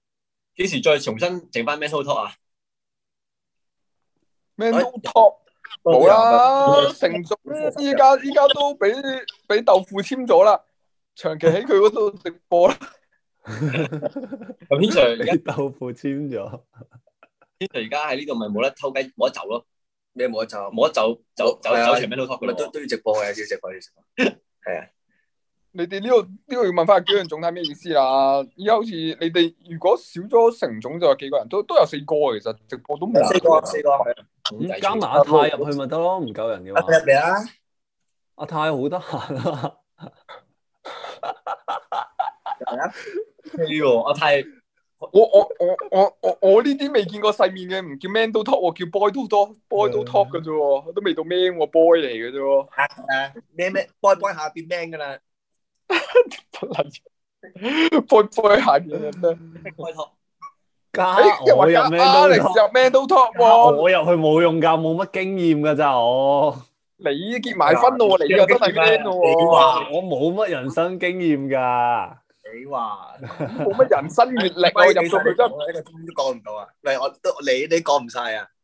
幾時再重新整翻 mental talk 啊 ？mental talk 冇啦，成總依家依家都俾俾豆腐簽咗啦，長期喺佢嗰度直播啦。 咁軒 Sir 而家豆腐簽咗， 軒 Sir 而家喺呢度咪冇得偷雞，冇得走咯， 咩冇得走？ 冇得走，走走係啊走場咩都 talk 咪嘅咯。 都都要直播嘅，要直播要直播。係啊， 你哋呢度呢個要問翻阿紀陽總睇咩意思啦？而家好似你哋如果少咗成總就有幾個人，都都有四個其實直播都冇。 四個四個。 咁加埋阿泰入去咪得咯，唔夠人嘅阿話。 入嚟啊！ 阿泰好得閒啊， 呢喎，阿泰我我我我我我呢啲未見過世面嘅，唔叫 man 都 talk 喎，叫 boy 都 talk，boy 都 talk 嘅啫喎，都未到 man 喎，boy 嚟嘅啫喎。 誒咩咩 boy boy 下變 man 噶啦， boy boy 下邊嘅咩？ 開拓， 加誒， 我入話 man 加都 Alex talk， 入 man 都 talk 加喎， 我入去冇用㗎，冇乜經驗㗎咋我。 你結埋婚咯喎，你又真係 man 咯你喎， 話我冇乜人生經驗㗎。 你話冇乜人生閲歷啊，入到去真係。 呢個都講唔到啊！喂，我都你你講唔晒啊！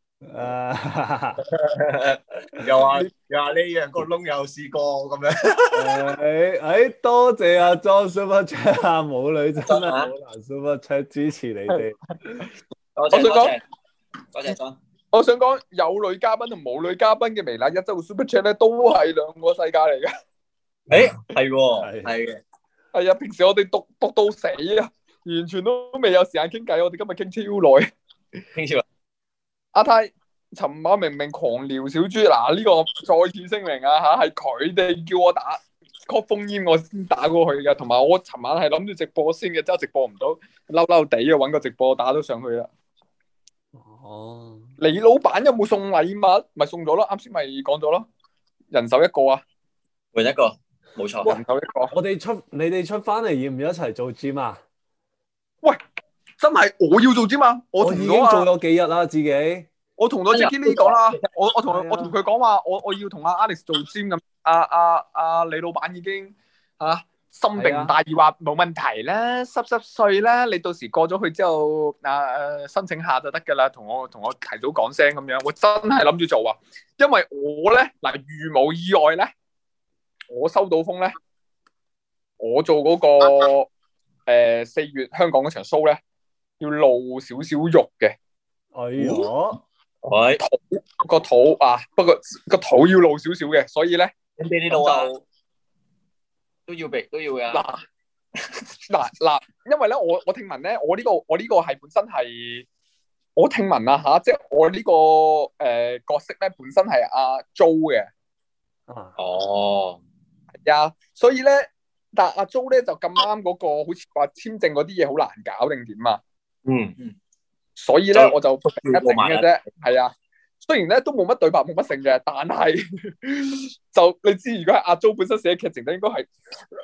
誒又話又話呢樣個窿有試過咁樣。 誒誒，多謝阿 John Super Chat 啊，母女真係好難 Super Chat 支持你哋。 多謝多我想講謝多謝莊。 我想講有女嘉賓同冇女嘉賓嘅微辣一周 Super Chat 咧，都係兩個世界嚟嘅。 誒係喎， 係係嘅， 係啊，平時我哋讀讀到死啊，完全都未有時間傾偈，我哋今日傾超耐。 傾超啦。 阿泰，尋晚明明狂聊小豬，嗱呢個再次聲明啊嚇，係佢哋叫我打 call 烽煙，我先打過去嘅。同埋我尋晚係諗住直播先嘅，之後直播唔到，嬲嬲地啊揾個直播打到上去啦。 哦， 你老闆有冇送禮物？咪送咗咯，啱先咪講咗咯，人手一個啊， 換一個，冇錯。 人手一個。 我哋出你哋出翻嚟要唔要一齊做 gym 啊？ 喂，真係我要做啫嘛，我我已經同咗啊， 做咗幾日啦，自己。 我同咗 Jackie Lee 講啦，我我同係啊我同佢講話，我我要同阿 Alex 做 gym 咁，阿阿阿李老闆已經嚇心平大義話冇問題啦，濕濕碎啦，你到時過咗去之後，啊誒申請下就得㗎啦，同我同我提早講聲咁樣，我真係諗住做啊，因為我咧嗱，如無意外咧，我收到風咧，我做嗰個誒四月香港嗰場 show 咧，要露少少肉嘅。 哎呀， 喂， 個肚啊，不過個肚要露少少嘅，所以咧咁你呢度啊就都要俾都要噶。 嗱嗱嗱，因為咧我我聽聞咧，我呢個我呢個係本身係我聽聞啊吓，即係我呢個誒角色咧本身係阿 Jo 嘅， 啊， 哦， 係啊，所以咧，但阿 Jo 咧就咁啱嗰個好似話簽證嗰啲嘢好難搞定點啊， 嗯嗯， 所以咧就我就一整嘅啫，係啊。雖然咧都冇乜對白冇乜性嘅，但係就你知，如果係阿 Jo 本身寫劇情，就應該係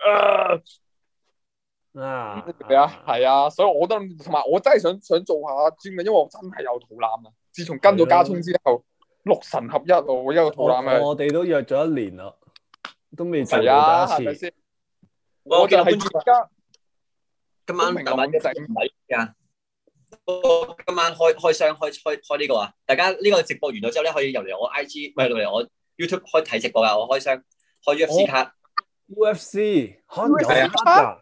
啊， 係啊係啊，所以我都同埋我真係想想做下 gym 嘅，因為我真係有肚腩啊！自從跟咗加聰之後，六神合一啊！我一個肚腩啊！ 我哋都約咗一年啦，都未做係啊， 過第一次。 係咪先？ 我我就係見到觀眾而家今晚明大晚咁整唔係啊！今晚開開箱開開開呢個啊！大家呢個直播完咗之後咧，可以入嚟我 I G，唔係入嚟我 YouTube 開睇直播噶。我開箱開 U F C 卡， U F C 可能有係啊得㗎。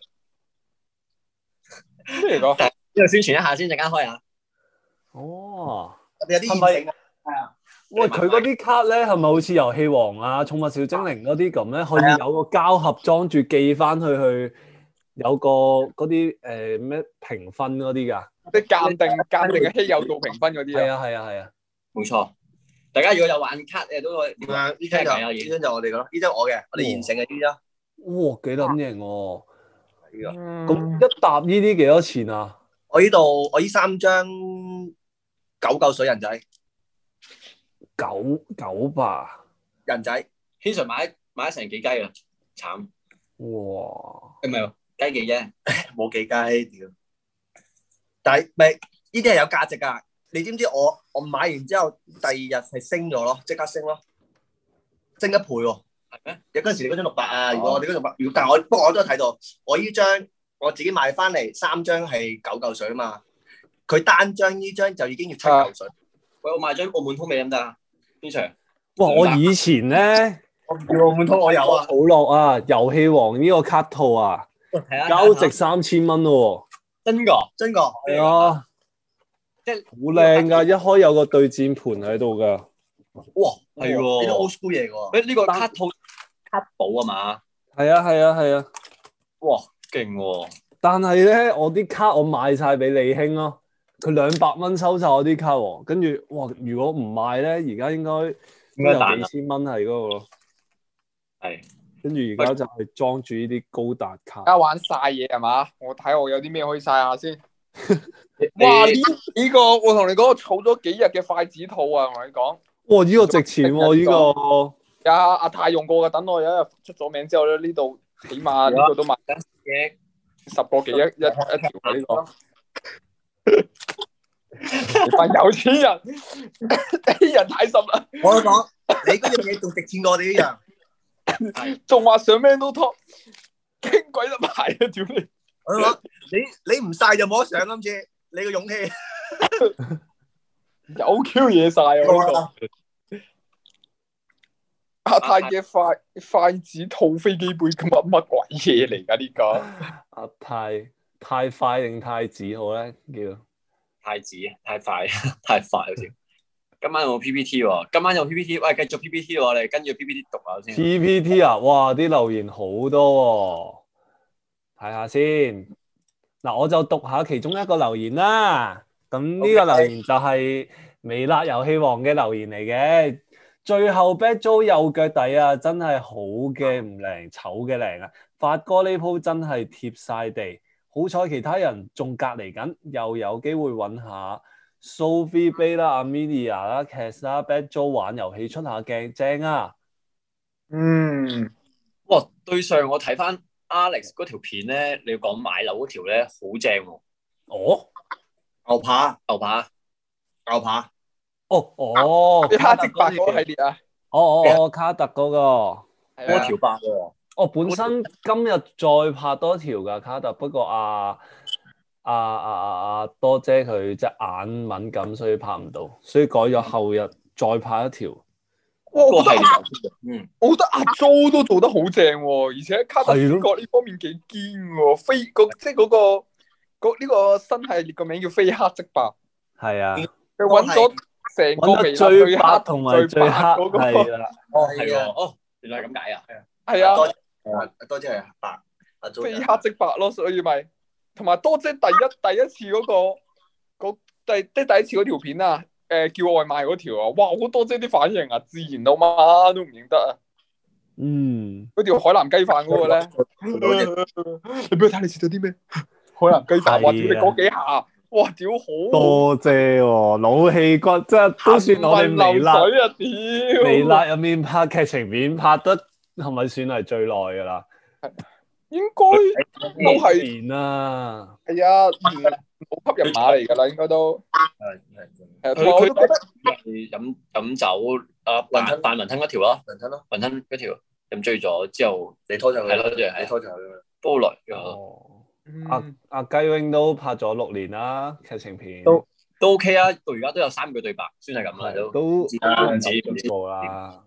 咩嚟講？ 呢度宣傳一下先，陣間開啊！ 哦， 我哋有啲現成啊，係啊， 喂，佢嗰啲卡咧係咪好似遊戲王啊、寵物小精靈嗰啲咁咧？可以有個膠盒裝住寄翻去去，有個嗰啲誒咩評分嗰啲㗎？ 即係鑑定鑑定嘅稀有度評分嗰啲啊！ 係啊係啊係啊！ 冇錯，大家如果有玩卡誒都可以。 點啊？呢張就呢張就我哋嘅咯，呢張我嘅，我哋現成嘅呢張。 哇，幾撚型喎！ 係啊， 咁咁一沓呢啲幾多錢啊？ 我呢度我呢三張九嚿水人仔， 九九百。 人仔。 軒 Sir 買買咗成幾雞啊！慘， 哇！ 唔係喎，雞幾啫？ 冇幾雞屌，但係咪呢啲係有價值㗎？你知唔知我我買完之後第二日係升咗咯，即刻升咯，升一倍喎。 係咩？ 有嗰陣時你嗰張六百啊，如果我哋嗰張六百，如果但係我不過我都有睇到，我呢張我自己買翻嚟三張係九嚿水啊嘛，佢單張呢張就已經要七嚿水。 喂，我買張澳門通未得唔得啊？軒 Sir， 哇！我以前咧， 我唔要澳門通，我有啊。 好樂啊，遊戲王呢個卡套啊，交值三千蚊咯。 真㗎， 真㗎。 係啊， 即係好靚㗎，一開有個對戰盤喺度㗎。 哇， 係喎， 呢啲 old school 嘢喎。 誒呢個卡套卡寶啊嘛。 係啊係啊係啊。 哇，勁喎！ 但係咧，我啲卡我賣晒俾李興咯，佢兩百蚊收晒我啲卡喎。跟住哇，如果唔賣咧，而家應該應該有幾千蚊係嗰個咯。 係。 跟住而家就係裝住呢啲高達卡。 而家玩晒嘢係嘛？我睇我有啲咩可以晒下先。哇！呢呢個我同你講，我儲咗幾日嘅筷子套啊！我同你講。 哇！呢個值錢喎，呢個。 阿阿泰用過嘅，等我有一日出咗名之後咧，呢度起碼呢個都賣得十個幾一一一條嘅呢個。你班有錢人，啲人太深啦。 我都講，你嗰樣嘢仲值錢過我哋呢樣。 仲話上 Man Talk，傾鬼得埋啊！屌你！ 我講你你唔晒就冇得上，今次你個勇氣有 Q 嘢晒啊！呢個阿泰嘅筷筷子套飛機杯咁乜乜鬼嘢嚟㗎？呢個阿泰太快定太子好咧？叫太子太快太快好似。今晚有冇 P P T 喎？今晚有 P P T， 喂，繼續 P P T 喎，我哋跟住 P P T 讀下先。 P P T 啊，哇！啲留言好多喎，睇下先。嗱，我就讀下其中一個留言啦。咁呢個留言就係微辣遊戲王嘅留言嚟嘅。最後 Bad Joe 右腳底啊，真係好嘅唔靚，醜嘅靚啊！發哥呢鋪真係貼晒地，好彩其他人仲隔離緊，又有機會揾下。Sophie Bay 啦、Amelia 啦、Cass 啦、Bad Joe 玩遊戲出下鏡，正啊！ 嗯， 哇！對上我睇翻 Alex 嗰條片咧，你要講買樓嗰條咧，好正喎！ 哦， 牛扒牛扒， 牛扒， 哦哦， 你黑色白嗰個系列啊？ 哦哦哦，卡特嗰個， 多條白喎。 哦，本身今日再拍多條㗎卡特，不過啊。啊啊啊啊！多姐佢隻眼敏感，所以拍唔到，所以改咗後日再拍一條。 哇！我覺得阿嗯， 我覺得阿 Jo 都做得好正喎，而且卡特主角呢方面幾堅喎，飛個即係嗰個嗰呢個新系列個名叫非黑即白。 係啊， 佢揾咗成個微辣最黑同埋最黑嗰個係啦。 哦係喎，哦，原來係咁解啊。 係啊， 多多謝係白，阿 Jo 非黑即白咯，所以咪。同埋多姐第一第一次嗰、嗰個嗰第即第一次嗰條片啊，誒、呃、叫外賣嗰條啊，哇！好多姐啲反應啊，自然到媽都唔認得啊。 嗯， 嗰條海南雞飯嗰個咧，你俾我睇你食咗啲咩？海南雞飯，哇！屌你嗰幾下，哇！屌好多姐喎，老氣骨，即係都算我哋微辣啊！屌微辣入面拍劇情片拍得係咪算係最耐㗎啦？ 應該都係年啦， 係啊，好吸引馬嚟㗎啦，應該都係係係。佢佢覺得飲飲酒啊，雲吞扮雲吞嗰條咯， 雲吞咯， 雲吞嗰條飲醉咗之後， 你拖上去係咯，即係你拖上去㗎嘛。 煲來哦，阿阿雞 wing 都拍咗六年啦，劇情片都都 OK 啊，到而家都有三句對白，算係咁啦，都都唔止唔止冇啦。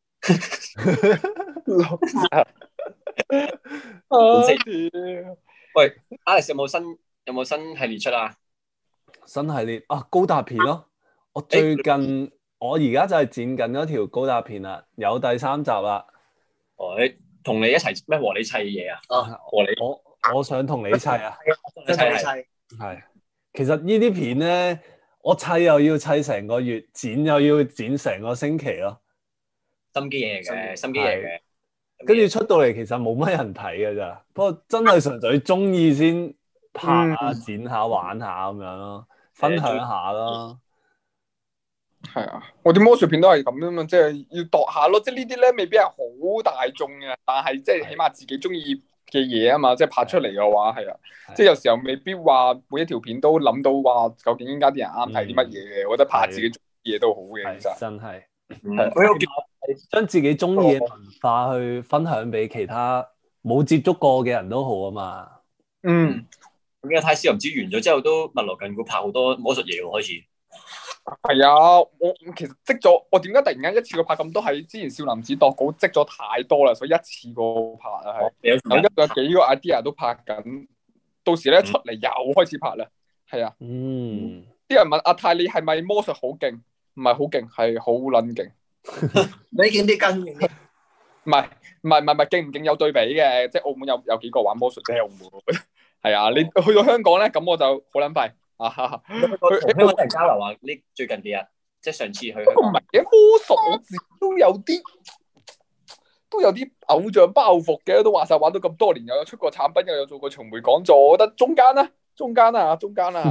喂 ，Alex 有冇新有冇新系列出啊？ 新系列啊，高達片咯！我最近、欸、我而家就係剪緊嗰條高達片啦，有第三集啦。 喂，同你一齊咩和你砌嘢啊？ 啊， 和你我我想同你砌啊！ 一齊砌係，其實呢啲片咧，我砌又要砌成個月，剪又要剪成個星期咯。 心機嘢嚟嘅，心機嘢嘅。 跟住出到嚟，其實冇乜人睇嘅咋。不過真係純粹中意先拍下、嗯、剪下、玩下咁樣咯，分享下咯。 係啊，我啲魔術片都係咁樣嘛，即係要度下咯。即係呢啲咧，未必係好大眾嘅，但係即係起碼自己中意嘅嘢啊嘛。即係拍出嚟嘅話，係啊，即係有時候未必話每一條片都諗到話，究竟依家啲人啱睇啲乜嘢嘅。我覺得拍自己中意嘢都好嘅，其實真係。 係。 將自己中意嘅文化去分享俾其他冇接觸過嘅人都好啊嘛。 嗯， 咁而家泰斯又唔知完咗之後都密鑼緊鼓拍好多魔術嘢喎，開始。 係啊，我其實積咗，我點解突然間一次過拍咁多？係之前少林寺度稿積咗太多啦，所以一次過拍啊，係。有一有幾個 idea 都拍緊，到時咧出嚟又開始拍啦。係啊。 嗯。 啲人問阿泰你係咪魔術好勁？唔係好勁，係好撚勁。 你勁啲跟勁啲。 唔係唔係唔係唔係勁唔勁有對比嘅，即係澳門有有幾個玩魔術即係澳門。係啊，你去到香港咧，咁我就好撚廢。啊哈哈！ 去香港人交流啊！呢最近幾日，即係上次去香港。 唔係嘅魔術，我自己都有啲都有啲偶像包袱嘅，都話晒玩到咁多年，又有出過產品，又有做過巡迴講座，我覺得中間啦，中間啦，中間啦。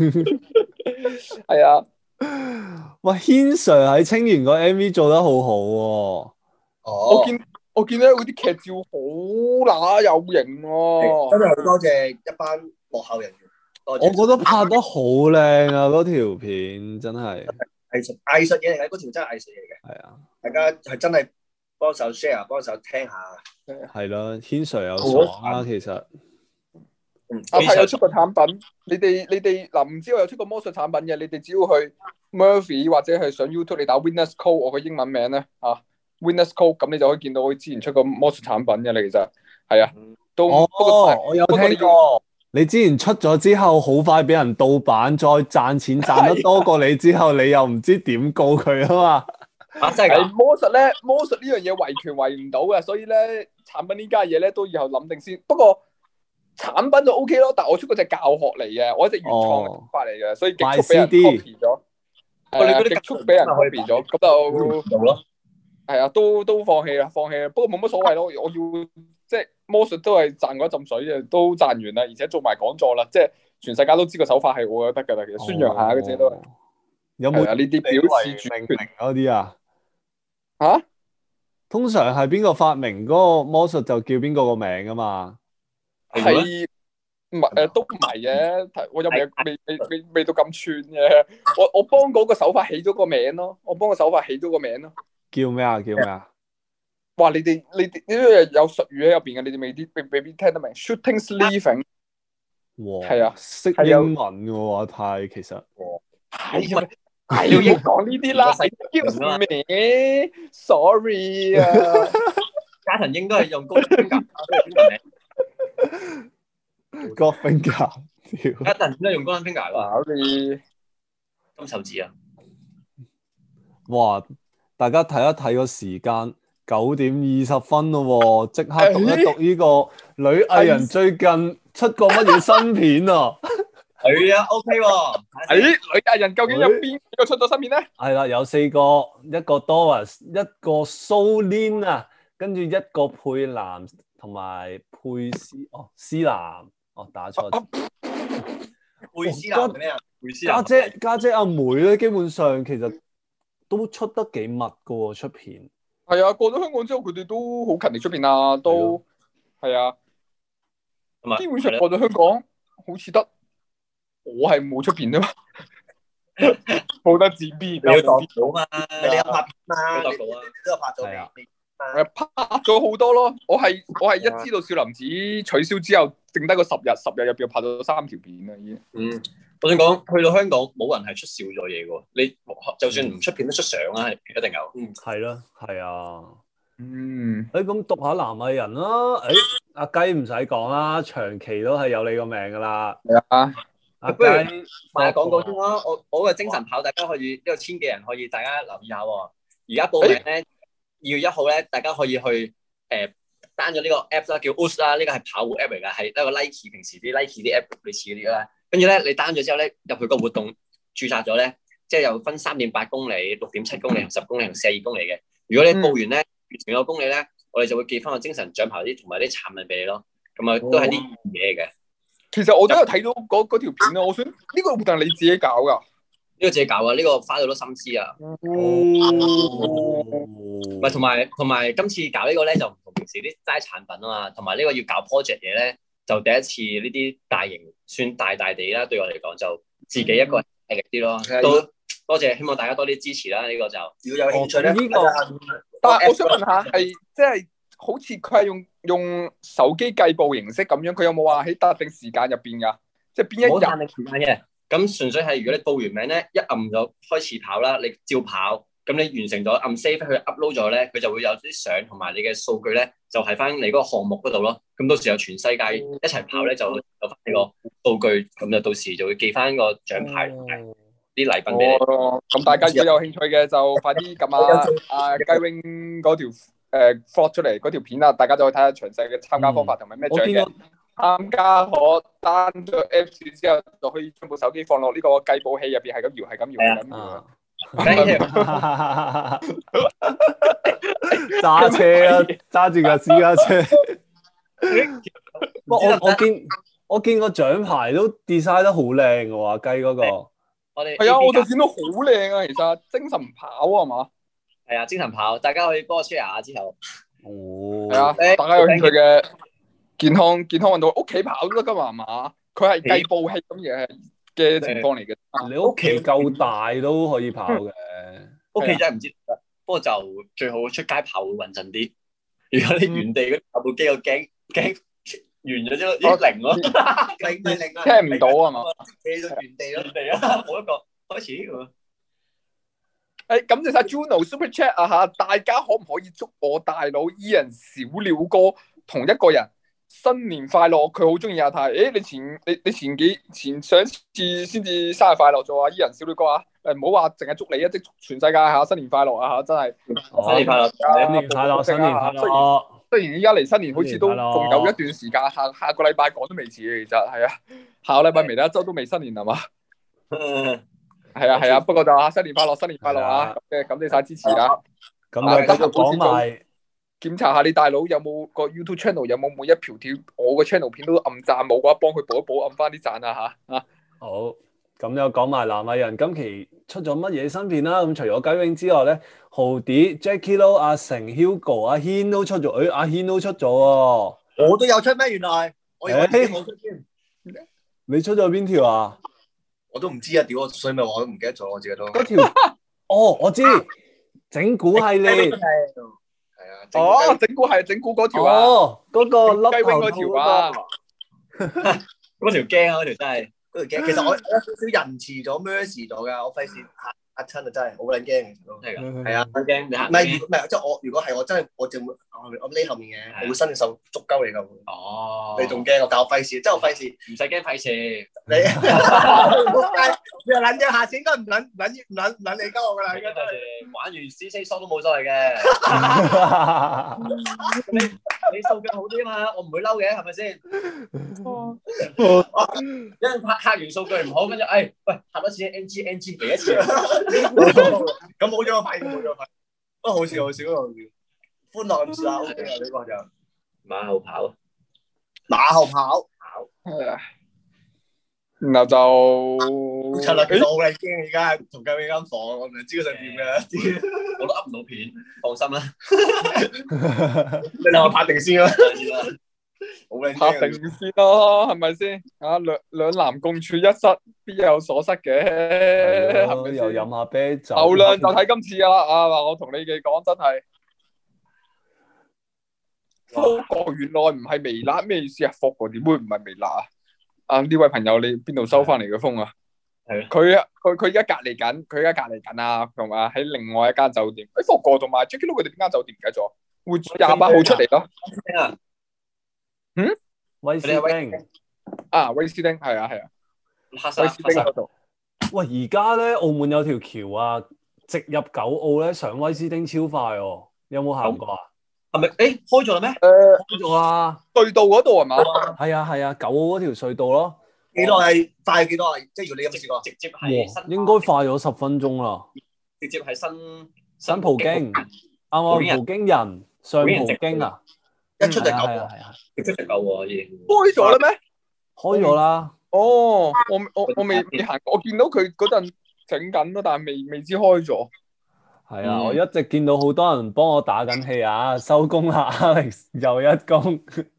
係啊。 喂，軒 Sir 喺清源個 M V 做得好好喎。 哦。 我見我見到嗰啲劇照好乸有型喎。 真係好多謝一班幕後人員。 我覺得拍得好靚啊！嗰條片真係藝術藝術嘢嚟嘅，嗰條真係藝術嘢嚟嘅。 係啊， 大家係真係幫手 share，幫手聽下。 係咯，軒 Sir 有爽啊，其實。 阿泰有出過產品，你哋你哋嗱唔知我有出過魔術產品嘅，你哋只要去 Murphy 或者係上 YouTube，你打 Winners Code 我個英文名咧啊 ，Winners Code 咁你就可以見到我之前出過魔術產品嘅，你其實係啊，都哦， 不過我有聽過。你之前出咗之後，好快俾人盜版，再賺錢賺得多過你之後，你又唔知點告佢啊嘛？ 啊，真係魔術咧，魔術呢樣嘢維權維唔到嘅，所以咧產品呢家嘢咧都以後諗定先。不過產品就 O K 咯，但係我出嗰隻教學嚟嘅，我一隻原創嘅法嚟嘅，所以極速俾人 copy 咗。我哋嗰啲極速俾人 copy 咗，咁就做咯。 係啊，都都放棄啦，放棄啦。不過冇乜所謂咯，我要即係魔術都係賺嗰一浸水嘅，都賺完啦，而且做埋講座啦，即係全世界都知個手法係我得㗎啦，其實宣揚下嗰啲都係。有冇呢啲表示主權嗰啲啊？ 嚇？ 通常係邊個發明嗰個魔術就叫邊個個名啊嘛？ 係唔係誒？都唔係嘅，我又未未未未未到咁串嘅。我我幫嗰個手法起咗個名咯，我幫個手法起咗個名咯。 叫咩啊？叫咩啊？ 哇！你哋你哋呢啲有術語喺入邊嘅，你哋未啲未未必聽得明。Shooting sleeving， 哇， 係啊， 識英文嘅喎，阿泰其實係啊，係要英講呢啲啦。Excuse me，sorry 啊。 加藤鷹都係用高分夾，邊個名？ 高分夾， 加藤都係用高分夾喎。 Sorry， 金手指啊！ 哇！大家睇一睇個時間，九點二十分咯，即刻讀一讀呢個女藝人最近出過乜嘢新片啊？ 係啊 ，OK 喎。 誒，女藝人究竟有邊個出咗新片咧？ 係啦，有四個，一個 Doris，一個 Solin 啊，跟住一個佩蘭同埋佩斯，哦，思南，哦，打錯。 佩斯南係咩啊？ 佩斯南家姐家姐阿妹咧，基本上其實都出得幾密噶喎，出片。 係啊，過咗香港之後，佢哋都好勤力出片啊，都係啊。基本上過咗香港，好似得我係冇出片啫嘛，冇得自編。 你要度到嘛？ 你有拍片嘛？ 你度到啊？ 都有拍咗嘅。 誒，拍咗好多咯。我係我係一知道少林寺取消之後，剩低個十日，十日入邊拍咗三條片啦，已經。 嗯，我想講，去到香港冇人係出少咗嘢嘅，你就算唔出片都出相啦，一定有。 嗯，係咯，係啊。 嗯。 誒，咁讀下男藝人啦。誒，阿雞唔使講啦，長期都係有你個名噶啦。 係啊。 阿雞賣廣告先啦。我我嘅精神跑，大家可以呢個千幾人可以大家留意下喎。而家報名咧。二月一號咧，大家可以去誒 down 咗呢個 app 啦，叫 O O S 啦，呢個係跑步 app 嚟㗎，係一個 Nike 平時啲 Nike 啲 app 類似嗰啲啦。跟住咧，你 down 咗之後咧，入去個活動註冊咗咧，即係又分三點八公里、六點七公里、同十公里同四十二公里嘅。如果你報完咧，完成個公里咧，我哋就會寄翻個精神獎牌啲同埋啲產品俾你咯。咁啊，都係啲嘢嘅。 其實我都有睇到嗰嗰條片啊，我想呢個活動係你自己搞㗎？ 呢個自己搞啊！呢個花咗好多心思啊。 哦。 唔係，同埋同埋今次搞呢個咧就唔同平時啲齋產品啊嘛，同埋呢個要搞 project 嘢咧，就第一次呢啲大型算大大地啦，對我嚟講就自己一個毅力啲咯。都多謝，希望大家多啲支持啦。呢個就如果有興趣咧，呢個但係我想問下，係即係好似佢係用用手機計步形式咁樣，佢有冇話喺特定時間入邊㗎？即係邊一日？ 冇限定時間嘅。 咁純粹係如果你報完名咧，一按咗開始跑啦，你照跑。咁你完成咗按 save 佢 upload 咗咧，佢就會有啲相同埋你嘅數據咧，就喺翻你嗰個項目嗰度咯。咁到時有全世界一齊跑咧，就有翻呢個數據，咁就到時就會寄翻個獎牌同埋啲禮品俾你。 哦，咁大家如果有興趣嘅，就快啲撳下阿雞 wing 嗰條誒 vlog 出嚟嗰條片啊，大家就可以睇下詳細嘅參加方法同埋咩獎嘅。參加可 down 咗 Apps 之後，就可以將部手機放落呢個計步器入邊，係咁搖，係咁搖，係咁搖。 揸車啊，揸住架私家車。不過我我見我見個獎牌都 design 得好靚嘅喎，雞嗰個。 我哋係啊，我就見到好靚啊，其實精神跑啊嘛。 係啊，精神跑，大家可以幫我 share 下之後。 哦。 係啊，大家有興趣嘅健康健康運動，屋企跑都得噶嘛，係嘛？佢係計步器咁嘢嘅情況嚟嘅。 你屋企夠大都可以跑嘅。 屋企真係唔知，不過就最好出街跑會穩陣啲。如果你原地嗰跑步機，我驚驚完咗之後啲零咯， 零咪零啊， 聽唔到啊嘛？ 企到原地咯， 原地啊，冇一個開始咁啊！ 誒，感謝晒 Juno Super Chat 啊嚇！大家可唔可以祝我大佬 Ian 小鳥哥同一個人新年快樂？佢好中意阿泰。誒，你前你你前幾前上次先至生日快樂咗啊！Ian 小鳥哥啊！誒，唔好話淨係祝你啊，即全世界嚇新年快樂啊嚇！真係新年快樂， 新年快樂，新年快樂。 雖然依家離新年好似都仲有一段時間，下下個禮拜講都未遲嘅，其實係啊，下個禮拜微辣一周都未新年係嘛？係啊係啊，不過就啊新年快樂，新年快樂啊！咁嘅感謝晒支持啊！ 咁啊，繼續講埋， 檢查下你大佬有冇個 YouTube channel 有冇每一條條我個 channel 片都暗讚冇嘅話，幫佢補一補，暗翻啲讚啊嚇啊！ 好。咁又講埋南亞人今期出咗乜嘢新片啦？咁除咗雞 wing 之外咧，豪啲 Jackie Lou、阿成、Hugo、阿軒都出咗。誒、哎，阿軒都出咗喎。 我都有出咩？原來我以為自己冇出添。 你出咗邊條啊？ 我都唔知啊！屌我所以咪話我都唔記得咗，我自己都。 嗰條哦，我知整蠱系列。 係啊。 哦，整蠱係整蠱嗰條啊。 哦，嗰、那個雞 wing 嗰條啊。 嗰條驚啊！嗰條真係。 嗰條驚，其實我有少少仁慈咗 mercy 咗㗎，我費事嚇嚇親啊！真係好撚驚，其實都係㗎， 係啊， 好驚你行。 唔係唔係，即係我如果係我真係我就會我匿後面嘅，我會伸隻手捉鳩你㗎。 哦， 你仲驚我？但我費事，即係我費事， 唔使驚費事。 你你又撚咗下次應該唔撚撚唔撚唔撚你鳩我㗎啦，應該真係玩完 C C 疏都冇所謂嘅。你你數據好啲啊嘛，我唔會嬲嘅，係咪先？因為拍拍完數據唔好，跟住誒喂拍多次 N G N G 嚟一次。 咁冇咗個牌，冇咗個牌。不過好笑好笑嗰個歡樂咁笑 OK 啊！呢個就馬後跑， 馬後跑跑。 然後就出啦！其實我好撚驚而家同雞 wing 間房，我唔知佢想點嘅。 我都噏唔到片，放心啦。 你兩個拍定先啦。好撚拍定先咯，係咪先？啊，兩兩男共處一室，必有所失嘅，係咪又飲下啤酒。 流量就睇今次噶啦，啊嗱，我同你哋講真係，福哥原來唔係微辣，咩意思啊？福哥點會唔係微辣啊？啊呢位朋友，你邊度收翻嚟嘅風啊？係佢啊，佢佢而家隔離緊，佢而家隔離緊啊，同埋喺另外一間酒店。誒，福哥同埋 Jackie Lou 佢哋邊間酒店唔記得咗？會廿八號出嚟咯。嗯， 威斯汀啊，威斯汀係啊係啊， 黑威斯汀嗰度。 喂，而家咧澳門有條橋啊，直入九澳咧上威斯汀超快哦，有冇行過啊？ 係咪？誒，開咗啦咩？ 誒， 開咗啊！ 隧道嗰度係嘛？ 係啊係啊，九澳嗰條隧道咯。 幾耐係快幾多啊？即係如果你有冇試過？ 直接係新， 應該快咗十分鐘啦。 直接係新新葡京，啱啱葡京人上葡京啊！ 一出就九， 係啊係啊， 直接就夠喎已經。 開咗啦咩？ 開咗啦。 哦，我我我未未行過，我見到佢嗰陣整緊咯，但係未未知開咗。 係啊，我一直見到好多人幫我打緊氣啊，收工啦 ，Alex 又一工，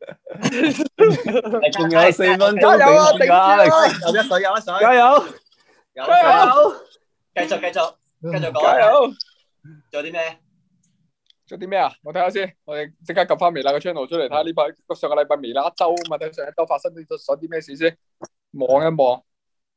仲有四分鐘頂住啊 ，Alex 有一水有一水， 加油， 加油，繼續繼續繼續講， 加油！ 仲有啲咩？ 做啲咩啊？我睇下先，我哋即刻撳翻微辣嘅 channel 出嚟睇下呢排上個禮拜微辣一周啊嘛，睇上一周發生咗啲咩事先，望一望。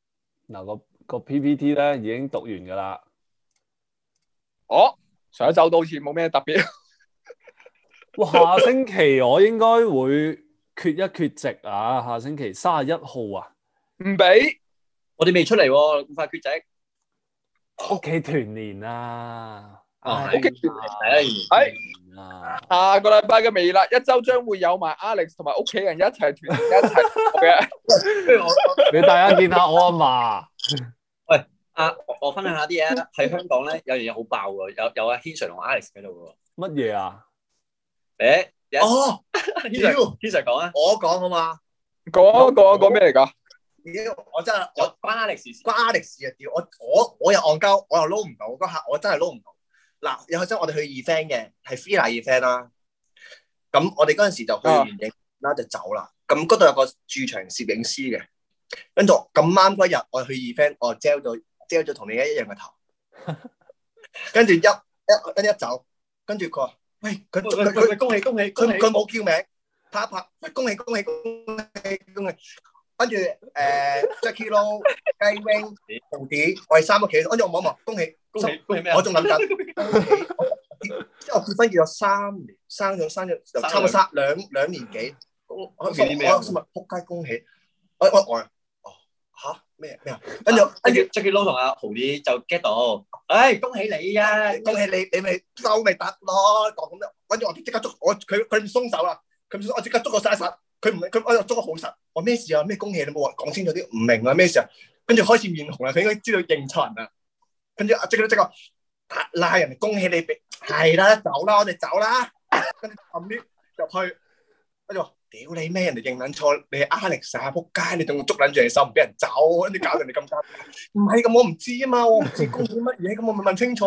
嗱個個 P P T 咧已經讀完噶啦。 哦，上一周都好似冇咩特別。 哇，下星期我應該會缺一缺席啊！下星期三十一號啊， 唔俾， 我哋未出嚟喎，咁快缺席。 屋企團年啊！ 哦， 屋企團年係啊！ 下個禮拜嘅微辣一周將會有埋 Alex 同埋屋企人一齊團年一齊嘅。 不如我俾大家見下我阿嫲。 喂，阿我我分享下啲嘢啊！喺香港咧有樣嘢好爆喎，有有阿 Hanser 同 Alex 喺度喎。 乜嘢啊？ 誒， 哦， Hanser Hanser 講啊， 我講好嘛？ 講講講咩嚟㗎？ 屌，我真係我關 Alex 事， 關 Alex 事啊！屌，我我我又戇鳩，我又撈唔到嗰下，我真係撈唔到。嗱，有陣我哋去 event 嘅，係 Fila event 啦。咁我哋嗰陣時就去完影啦，就走啦。咁嗰度有個駐場攝影師嘅，跟住咁啱嗰日我去 event，我 gel 咗 gel 咗同你一樣嘅頭，跟住一一跟一走，跟住佢話：喂，佢佢佢恭喜恭喜，佢佢冇叫名，拍一拍，喂，恭喜恭喜恭喜恭喜。跟住誒 Jackie Lou、雞 wing、豪啲，我哋三個企，跟住我望一望，恭喜恭喜恭喜咩啊？ 我仲諗緊，恭喜！即係我結婚結咗三年，生咗生咗就差唔多三兩兩年幾。我我心諗仆街恭喜！我我我哦嚇咩咩啊？跟住跟住 Jackie Lou 同阿豪啲就 get 到，誒恭喜你啊！ 恭喜你，你咪收咪得咯，講咁樣。跟住我即刻捉我佢佢唔鬆手啦，佢唔鬆我即刻捉個晒實。佢唔佢我又捉得好實，我咩事啊？咩恭喜你冇話講清楚啲，唔明啊咩事啊？跟住開始面紅啦，佢應該知道認錯人啦。跟住阿即刻即刻拉人哋恭喜你，係啦，走啦，我哋走啦。跟住後面入去，跟住話屌你咩？人哋認撚錯，你係 Alex 啊，仆街！你仲捉撚住你手唔俾人走，跟住搞人哋咁尷尬。唔係咁，我唔知啊嘛，我唔知恭喜乜嘢，咁我咪問清楚。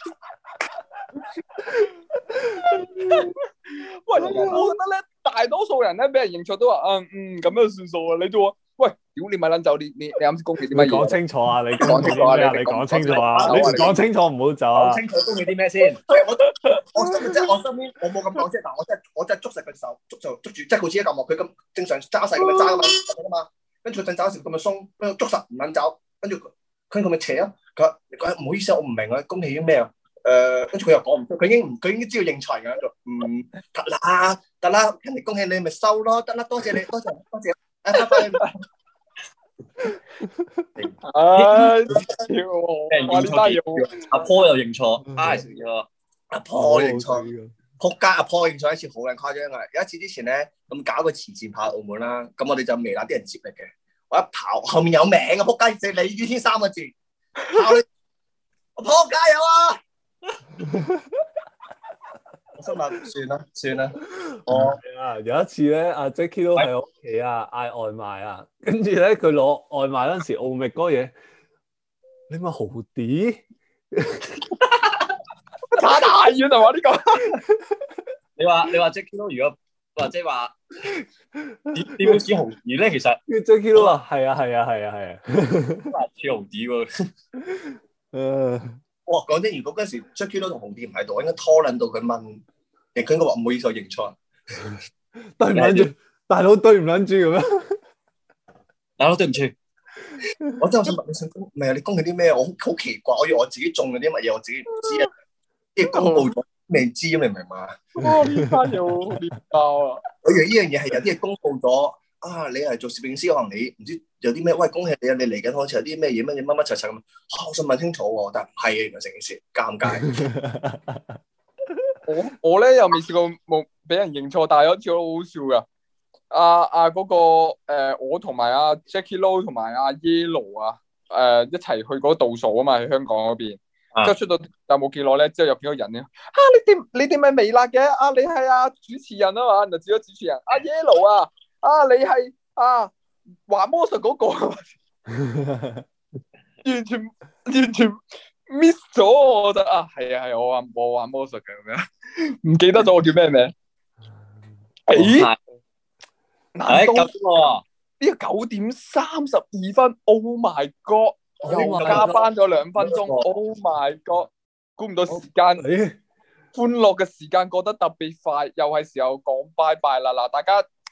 喂，我覺得咧，大多數人咧俾人認錯都話，嗯嗯咁樣算數啊！你做啊？喂，屌你咪撚走！你你你啱先恭喜啲乜嘢？ 講清楚啊！你講清楚啊！ 你講清楚啊！你講清楚唔好走啊！ 講清楚恭喜啲咩先？ 我我身即係我身邊，我冇咁講啫。但係我真係我真係捉實佢手，捉就捉住，即係好似一嚿木，佢咁正常揸實咁樣揸噶嘛。跟住佢陣揸時咁樣鬆，跟住捉實唔撚走，跟住佢佢咪扯啊！佢話佢話唔好意思，我唔明啊，恭喜咩啊？誒，跟住佢又講唔出，佢已經唔佢已經知道認錯人嘅喺度。嗯，得啦得啦，人哋恭喜你咪收咯，得啦，多謝你，多謝多謝，誒拜拜。 唉，屌我！ 認錯阿 Paul 又認錯 ，Alex 認錯， 阿 Paul 認錯，仆街！阿 Paul 認錯一次好撚誇張啊！有一次之前咧，咁搞個慈善跑澳門啦，咁我哋就微辣啲人接力嘅，我一跑後面有名啊，仆街！寫李宇軒三個字，跑你，阿 Paul 加油啊！我心諗算啦算啦， 哦啊！有一次咧，阿 Jackie 都喺屋企啊，嗌外賣啊，跟住咧佢攞外賣嗰陣時，奧密嗰嘢，你咪豪啲， 差太遠係嘛呢個？ 你話你話 Jackie 都如果或者話點點樣似豪啲咧？其實 Jackie 都話係啊係啊係啊係啊， 似豪啲喎。 誒。 哇！講真，如果嗰時 Jackie 都同紅店唔喺度，我應該拖撚到佢問，亦佢應該話唔好意思，我認錯。 對唔撚住，大佬對唔撚住咁樣。 大佬對唔住， 我真係想問你想恭，唔係啊？你恭喜啲咩？我好好奇怪，我以為我自己中咗啲乜嘢，我自己唔知啊。即係公佈咗未知，你明唔明嘛？ 哇！呢單嘢好亂交啊！ 我以為呢樣嘢係有啲嘢公佈咗。啊！你係做攝影師，可能你唔知有啲咩？喂，恭喜你啊！你嚟緊好似有啲咩嘢乜嘢乜乜柒柒咁。嚇！我想問清楚喎，但係唔係啊，原來成件事尷尬。 我我咧又未試過冇俾人認錯，但係有一次好好笑噶。阿阿嗰個誒、呃，我同埋阿 Jackie Lou 同埋阿 Yellow 啊，誒、呃、一齊去嗰度數啊嘛，喺香港嗰邊。之後出到有冇幾耐咧？之後有幾個人咧？啊！你哋你哋咪微辣嘅？啊！你係阿主持人啊嘛？就指咗主持人。阿 Yellow 啊！啊！你係啊玩魔術嗰、那個，完全完全 miss 咗，我覺得啊，係啊係我話我玩魔術嘅咁樣，唔記得咗我叫咩名？誒，難道呢個九點三十二分 ？Oh my god！ 又加班咗兩分鐘 ！Oh my god！ 估唔到時間，歡樂嘅時間過得特別快，又係時候講拜拜啦！嗱，大家。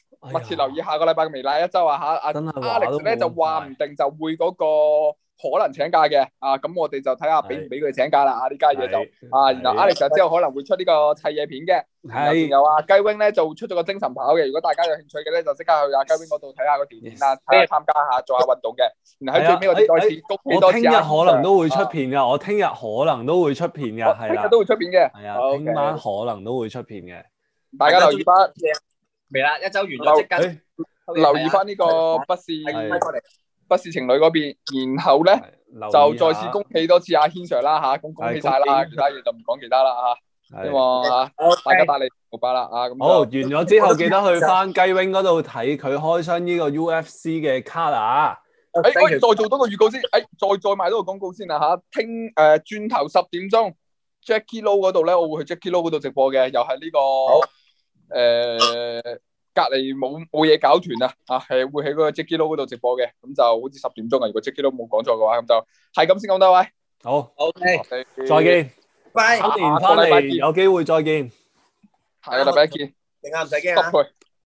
密切留意下個禮拜嘅微辣一周啊嚇，阿 Alex 咧就話唔定就會嗰個可能請假嘅啊，咁我哋就睇下俾唔俾佢請假啦啊呢家嘢就啊，然後 Alex 之後可能會出呢個砌嘢片嘅，係有啊雞 wing 咧就出咗個精神跑嘅，如果大家有興趣嘅咧就即刻去阿雞 wing 嗰度睇下個條片啦，睇下參加下做下運動嘅，然後喺最尾我哋再次恭喜多次， 我聽日可能都會出片噶，我聽日可能都會出片噶，係啦， 聽日都會出片嘅， 係啊，聽晚可能都會出片嘅， 大家留意翻。 微辣一周完咗即刻留意翻呢個不是不是情侶嗰邊，然後咧就再次恭喜多次阿軒 Sir 啦嚇，咁恭喜晒啦，其他嘢就唔講其他啦嚇，希望嚇大家帶你紅包啦啊！咁好完咗之後，記得去翻雞 wing 嗰度睇佢開箱呢個 U F C 嘅卡啊！ 誒喂，再做多個預告先，誒再再賣多個廣告先啦嚇，聽誒轉頭十點鐘 Jacky Lou 嗰度咧，我會去 Jacky Lou 嗰度直播嘅，又係呢個。誒、呃，隔籬冇冇嘢搞團啊，啊係會喺嗰個 Jacky Lou 嗰度直播嘅，咁就好似十點鐘啊，如果 Jacky Lou 冇講錯嘅話，咁就係咁先講多位， 好 ，OK， 再見， 拜， 新年翻嚟有機會再見， 下個禮拜見， 大家唔使驚啊。